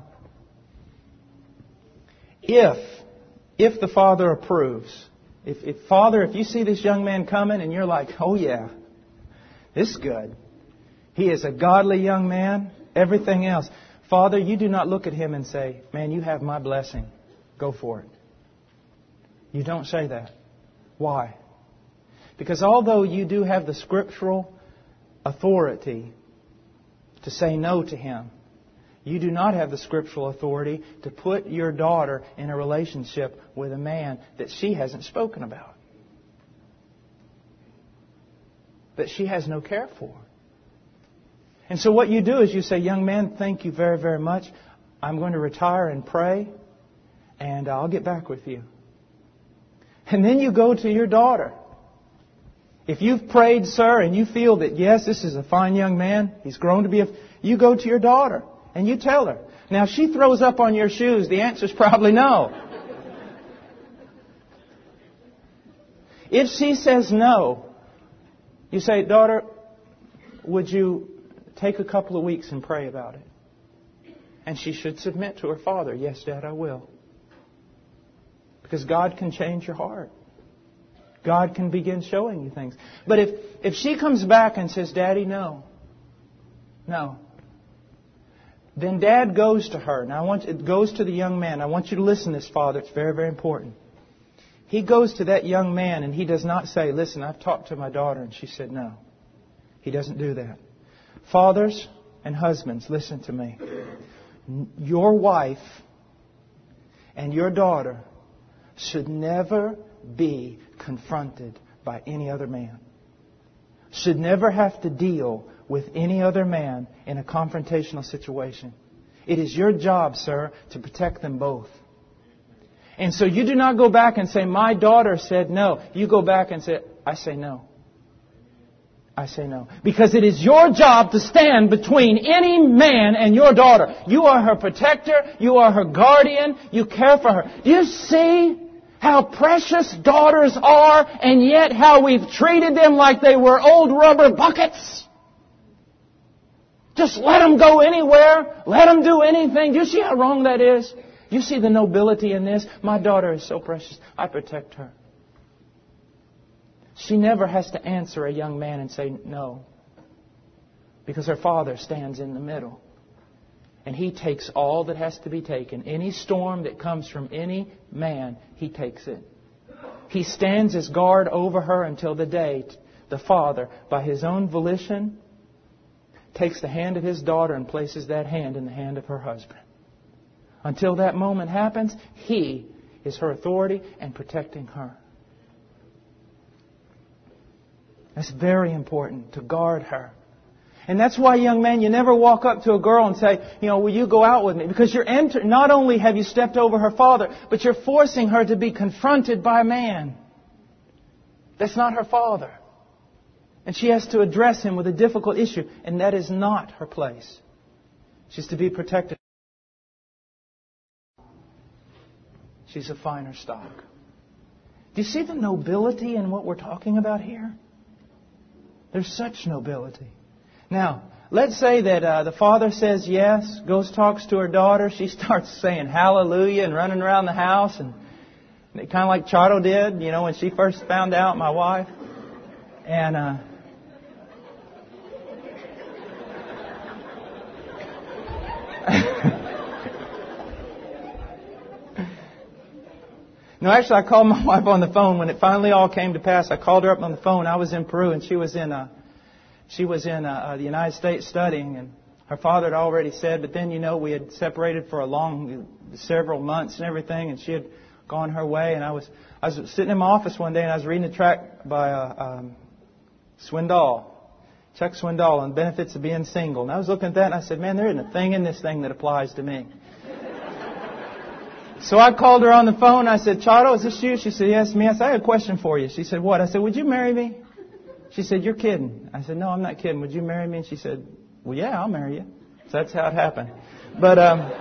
if the father approves, if you see this young man coming and you're like, "Oh yeah, this is good. He is a godly young man, everything else." Father, you do not look at him and say, "Man, you have my blessing. Go for it." You don't say that. Why? Because although you do have the scriptural authority to say no to him, you do not have the scriptural authority to put your daughter in a relationship with a man that she hasn't spoken about, that she has no care for. And so what you do is you say, "Young man, thank you very, very much. I'm going to retire and pray, and I'll get back with you." And then you go to your daughter. If you've prayed, sir, and you feel that, yes, this is a fine young man, he's grown to be you go to your daughter and you tell her. Now, if she throws up on your shoes, the answer is probably no. If she says no, you say, "Daughter, would you take a couple of weeks and pray about it?" And she should submit to her father. "Yes, Dad, I will." Because God can change your heart. God can begin showing you things. But if she comes back and says, "Daddy, no," then Dad goes to her. Now, it goes to the young man. I want you to listen to this, Father. It's very, very important. He goes to that young man and he does not say, "Listen, I've talked to my daughter and she said no." He doesn't do that. Fathers and husbands, listen to me. Your wife and your daughter should never be confronted by any other man. Should never have to deal with any other man in a confrontational situation. It is your job, sir, to protect them both. And so you do not go back and say, my daughter said no. You go back and say, I say no. I say no. Because it is your job to stand between any man and your daughter. You are her protector. You are her guardian. You care for her. Do you see how precious daughters are, and yet how we've treated them like they were old rubber buckets? Just let them go anywhere. Let them do anything. Do you see how wrong that is? You see the nobility in this? My daughter is so precious. I protect her. She never has to answer a young man and say no. Because her father stands in the middle. And he takes all that has to be taken. Any storm that comes from any man, he takes it. He stands as guard over her until the day the father, by his own volition, takes the hand of his daughter and places that hand in the hand of her husband. Until that moment happens, he is her authority and protecting her. That's very important, to guard her. And that's why, young man, you never walk up to a girl and say, will you go out with me? Because not only have you stepped over her father, but you're forcing her to be confronted by a man. That's not her father. And she has to address him with a difficult issue. And that is not her place. She's to be protected. She's a finer stock. Do you see the nobility in what we're talking about here? There's such nobility. Now, let's say that the father says yes, goes talks to her daughter. She starts saying hallelujah and running around the house, and kind of like Chato did, when she first found out, my wife. And no, actually, I called my wife on the phone when it finally all came to pass. I called her up on the phone. I was in Peru, and she was in the United States studying, and her father had already said. But then, we had separated for several months and everything, and she had gone her way. And I was sitting in my office one day, and I was reading a tract by Swindoll, Chuck Swindoll, on the benefits of being single. And I was looking at that, and I said, man, there isn't a thing in this thing that applies to me. So I called her on the phone. I said, Chato, is this you? She said, yes, me. I said, I have a question for you. She said, what? I said, would you marry me? She said, you're kidding. I said, no, I'm not kidding. Would you marry me? And she said, well, yeah, I'll marry you. So that's how it happened. But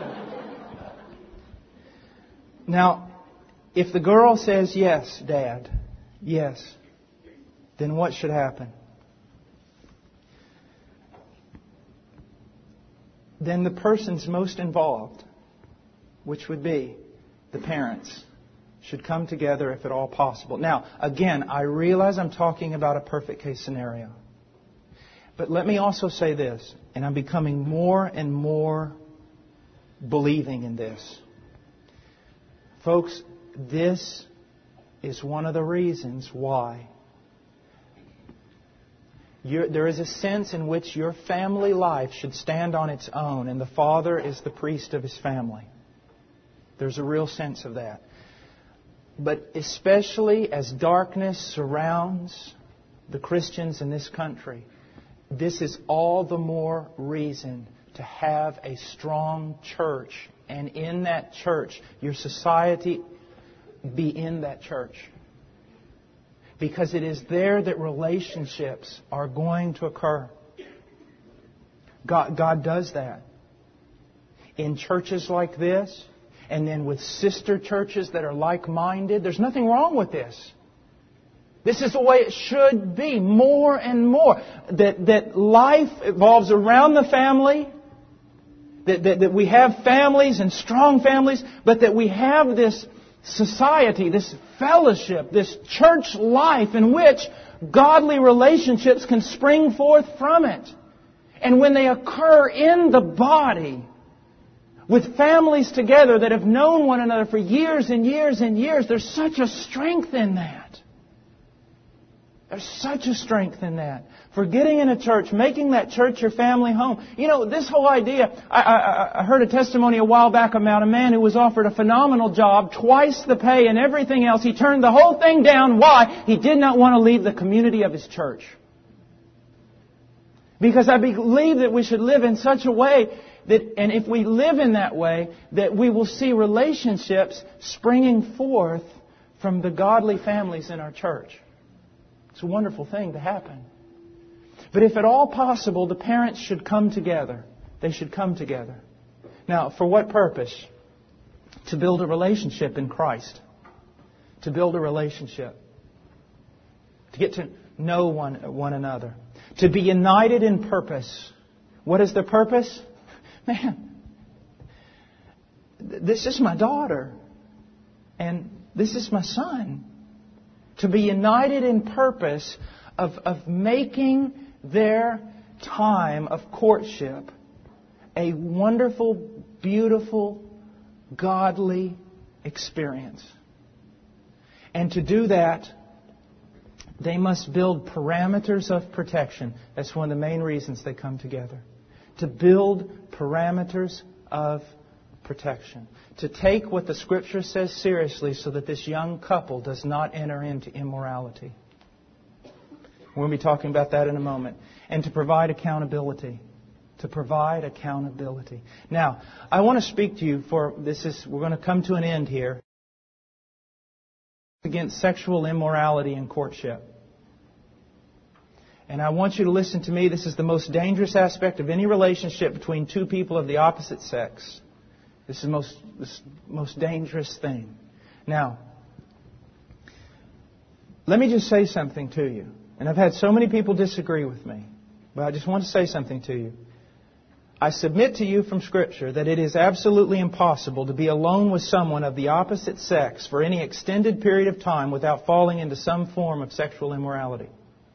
now, if the girl says, yes, Dad, yes, then what should happen? Then the person's most involved, which would be the parents, should come together if at all possible. Now, again, I realize I'm talking about a perfect case scenario. But let me also say this, and I'm becoming more and more believing in this. Folks, this is one of the reasons why there is a sense in which your family life should stand on its own, and the father is the priest of his family. There's a real sense of that. But especially as darkness surrounds the Christians in this country, this is all the more reason to have a strong church. And in that church, your society be in that church. Because it is there that relationships are going to occur. God does that. In churches like this, and then with sister churches that are like-minded. There's nothing wrong with this. This is the way it should be, more and more. That life evolves around the family. That we have families and strong families, but that we have this society, this fellowship, this church life in which godly relationships can spring forth from it. And when they occur in the body, with families together that have known one another for years and years and years, there's such a strength in that. There's such a strength in that. For getting in a church, making that church your family home. This whole idea, I heard a testimony a while back about a man who was offered a phenomenal job, twice the pay and everything else. He turned the whole thing down. Why? He did not want to leave the community of his church. Because I believe that we should live in such a way that, and if we live in that way, that we will see relationships springing forth from the godly families in our church. It's a wonderful thing to happen. But if at all possible, the parents should come together. They should come together. Now, for what purpose? To build a relationship in Christ. To build a relationship. To get to know one another. To be united in purpose. What is the purpose? Man, this is my daughter. And this is my son. To be united in purpose of making their time of courtship a wonderful, beautiful, godly experience. And to do that, they must build parameters of protection. That's one of the main reasons they come together. To build parameters of protection. To take what the Scripture says seriously so that this young couple does not enter into immorality. We'll be talking about that in a moment. And to provide accountability. To provide accountability. Now, I want to speak to you we're going to come to an end here. Against sexual immorality in courtship. And I want you to listen to me. This is the most dangerous aspect of any relationship between two people of the opposite sex. This is the most dangerous thing. Now, let me just say something to you. And I've had so many people disagree with me. But I just want to say something to you. I submit to you from Scripture that it is absolutely impossible to be alone with someone of the opposite sex for any extended period of time without falling into some form of sexual immorality.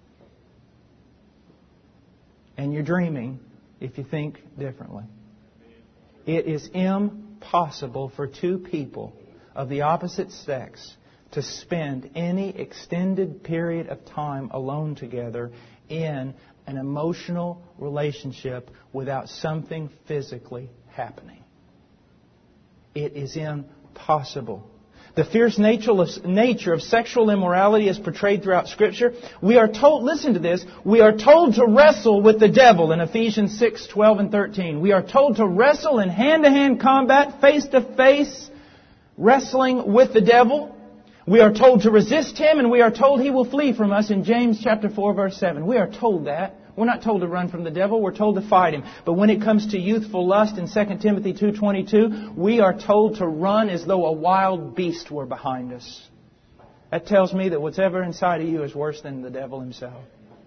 And you're dreaming if you think differently. It is impossible for two people of the opposite sex to spend any extended period of time alone together in an emotional relationship without something physically happening. It is impossible. The fierce nature of sexual immorality is portrayed throughout Scripture. We are told, listen to this, we are told to wrestle with the devil in Ephesians 6:12 and 13. We are told to wrestle in hand-to-hand combat, face-to-face wrestling with the devil. We are told to resist him, and we are told he will flee from us in James chapter 4, verse 7. We are told that. We're not told to run from the devil. We're told to fight him. But when it comes to youthful lust in 2 Timothy 2:22, we are told to run as though a wild beast were behind us. That tells me that whatever inside of you is worse than the devil himself.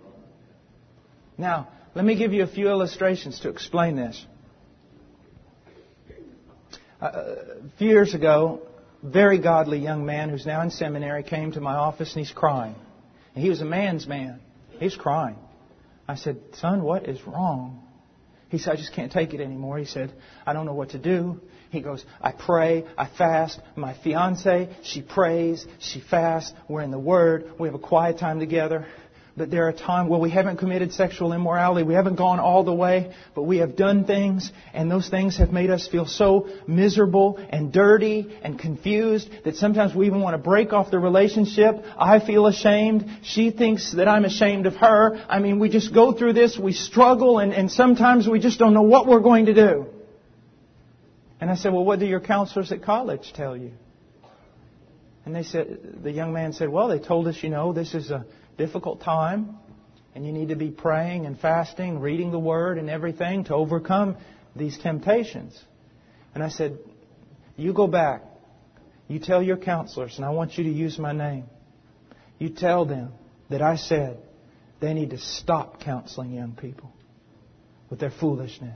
Now, let me give you a few illustrations to explain this. A few years ago, a very godly young man who's now in seminary came to my office and he's crying. And he was a man's man. He's crying. I said, son, what is wrong? He said, I just can't take it anymore. He said, I don't know what to do. He goes, I pray, I fast. My fiance, she prays, she fasts. We're in the Word. We have a quiet time together. But there are times where we haven't committed sexual immorality. We haven't gone all the way, but we have done things, and those things have made us feel so miserable and dirty and confused that sometimes we even want to break off the relationship. I feel ashamed. She thinks that I'm ashamed of her. I mean, we just go through this. We struggle, and sometimes we just don't know what we're going to do. And I said, well, what do your counselors at college tell you? And the young man said, well, they told us, this is a difficult time, and you need to be praying and fasting, reading the Word and everything to overcome these temptations. And I said, you go back. You tell your counselors, and I want you to use my name. You tell them that I said they need to stop counseling young people with their foolishness.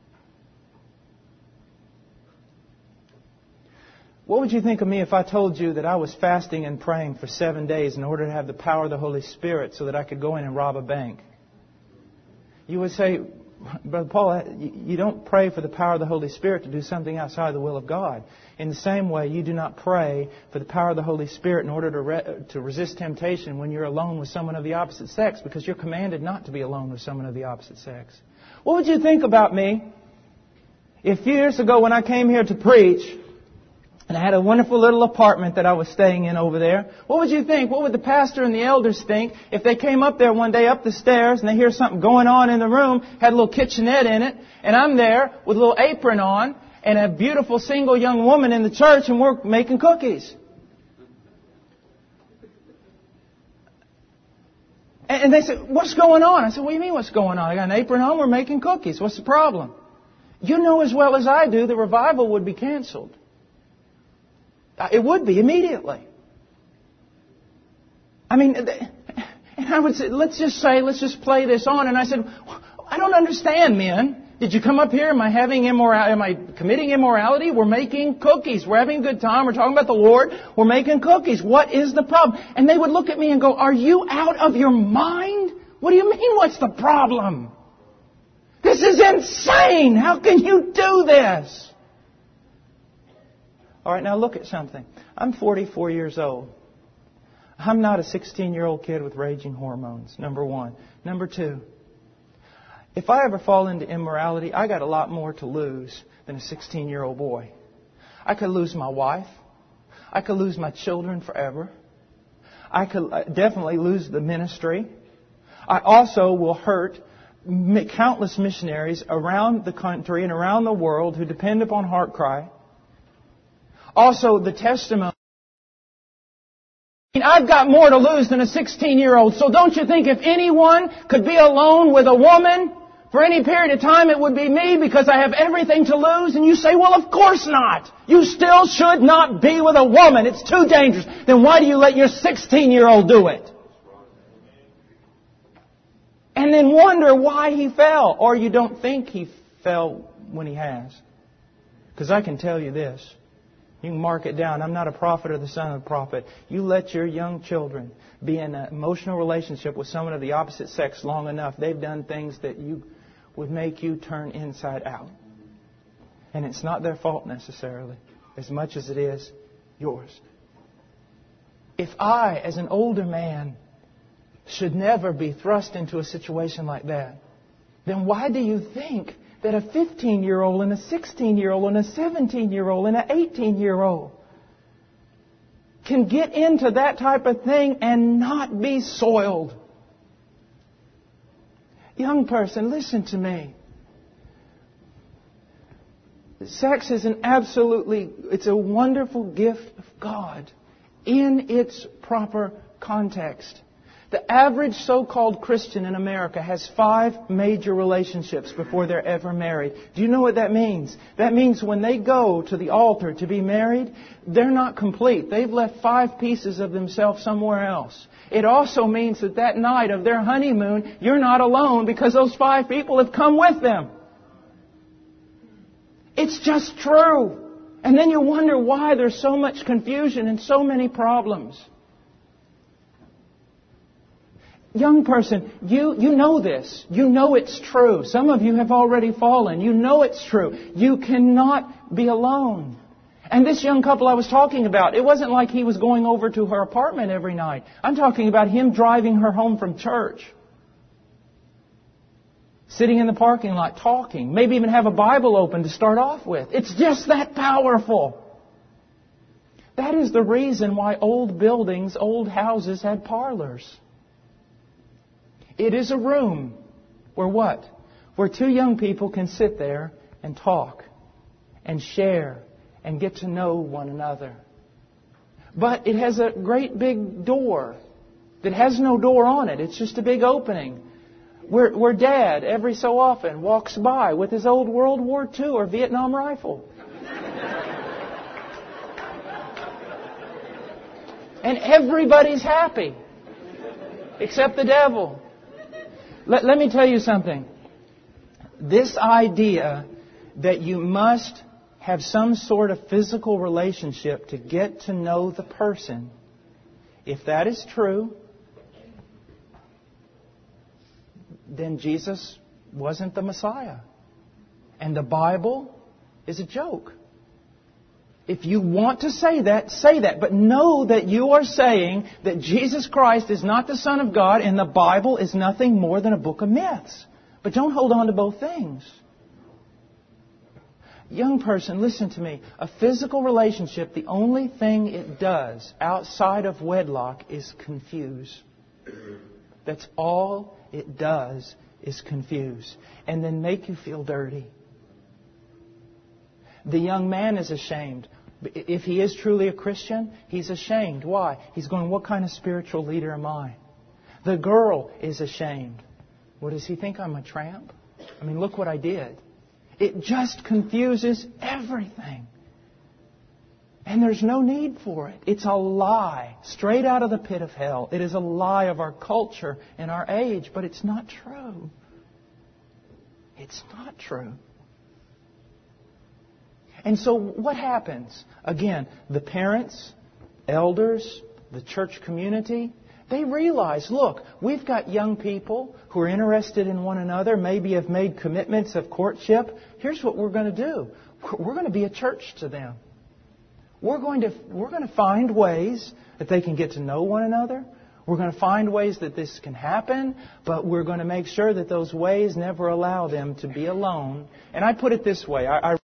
What would you think of me if I told you that I was fasting and praying for 7 days in order to have the power of the Holy Spirit so that I could go in and rob a bank? You would say, Brother Paul, you don't pray for the power of the Holy Spirit to do something outside the will of God. In the same way, you do not pray for the power of the Holy Spirit in order to resist temptation when you're alone with someone of the opposite sex, because you're commanded not to be alone with someone of the opposite sex. What would you think about me if years ago when I came here to preach, And I had a wonderful little apartment that I was staying in over there. What would you think? What would the pastor and the elders think if they came up there one day up the stairs and they hear something going on in the room, had a little kitchenette in it, and I'm there with a little apron on and a beautiful single young woman in the church and we're making cookies? And they said, what's going on? I said, what do you mean what's going on? I got an apron on, we're making cookies. What's the problem? You know as well as I do the revival would be canceled. It would be immediately. I mean, and I would say, let's just play this on. And I said, I don't understand, men. Did you come up here? Am I committing immorality? We're making cookies. We're having a good time. We're talking about the Lord. We're making cookies. What is the problem? And they would look at me and go, are you out of your mind? What do you mean, what's the problem? This is insane. How can you do this? All right, now look at something. I'm 44 years old. I'm not a 16-year-old kid with raging hormones, number one. Number two, if I ever fall into immorality, I got a lot more to lose than a 16-year-old boy. I could lose my wife. I could lose my children forever. I could definitely lose the ministry. I also will hurt countless missionaries around the country and around the world who depend upon HeartCry. Also, the testimony. I've got more to lose than a 16-year-old. So don't you think if anyone could be alone with a woman for any period of time, it would be me because I have everything to lose? And you say, well, of course not. You still should not be with a woman. It's too dangerous. Then why do you let your 16-year-old do it? And then wonder why he fell. Or you don't think he fell when he has. Because I can tell you this. You can mark it down. I'm not a prophet or the son of a prophet. You let your young children be in an emotional relationship with someone of the opposite sex long enough, they've done things that would make you turn inside out. And it's not their fault necessarily, as much as it is yours. If I, as an older man, should never be thrust into a situation like that, then why do you think that a 15-year-old and a 16-year-old and a 17-year-old and an 18-year-old can get into that type of thing and not be soiled? Young person, listen to me. Sex is it's a wonderful gift of God in its proper context. The average so-called Christian in America has 5 major relationships before they're ever married. Do you know what that means? That means when they go to the altar to be married, they're not complete. They've left 5 pieces of themselves somewhere else. It also means that night of their honeymoon, you're not alone because those 5 people have come with them. It's just true. And then you wonder why there's so much confusion and so many problems. Young person, you know this. You know it's true. Some of you have already fallen. You know it's true. You cannot be alone. And this young couple I was talking about, it wasn't like he was going over to her apartment every night. I'm talking about him driving her home from church. Sitting in the parking lot talking. Maybe even have a Bible open to start off with. It's just that powerful. That is the reason why old buildings, old houses had parlors. It is a room where what? Where 2 young people can sit there and talk and share and get to know one another. But it has a great big door that has no door on it. It's just a big opening where Dad, every so often, walks by with his old World War II or Vietnam rifle. And everybody's happy. Except the devil. Let me tell you something. This idea that you must have some sort of physical relationship to get to know the person, if that is true, then Jesus wasn't the Messiah. And the Bible is a joke. If you want to say that, say that. But know that you are saying that Jesus Christ is not the Son of God and the Bible is nothing more than a book of myths. But don't hold on to both things. Young person, listen to me. A physical relationship, the only thing it does outside of wedlock is confuse. That's all it does is confuse. And then make you feel dirty. The young man is ashamed. If he is truly a Christian, he's ashamed. Why? He's going, what kind of spiritual leader am I? The girl is ashamed. What does he think? I'm a tramp? I mean, look what I did. It just confuses everything. And there's no need for it. It's a lie, straight out of the pit of hell. It is a lie of our culture and our age, but it's not true. It's not true. And so what happens? Again, the parents, elders, the church community, they realize, look, we've got young people who are interested in one another, maybe have made commitments of courtship. Here's what we're going to do. We're going to be a church to them. We're going to find ways that they can get to know one another. We're going to find ways that this can happen, but we're going to make sure that those ways never allow them to be alone. And I put it this way. I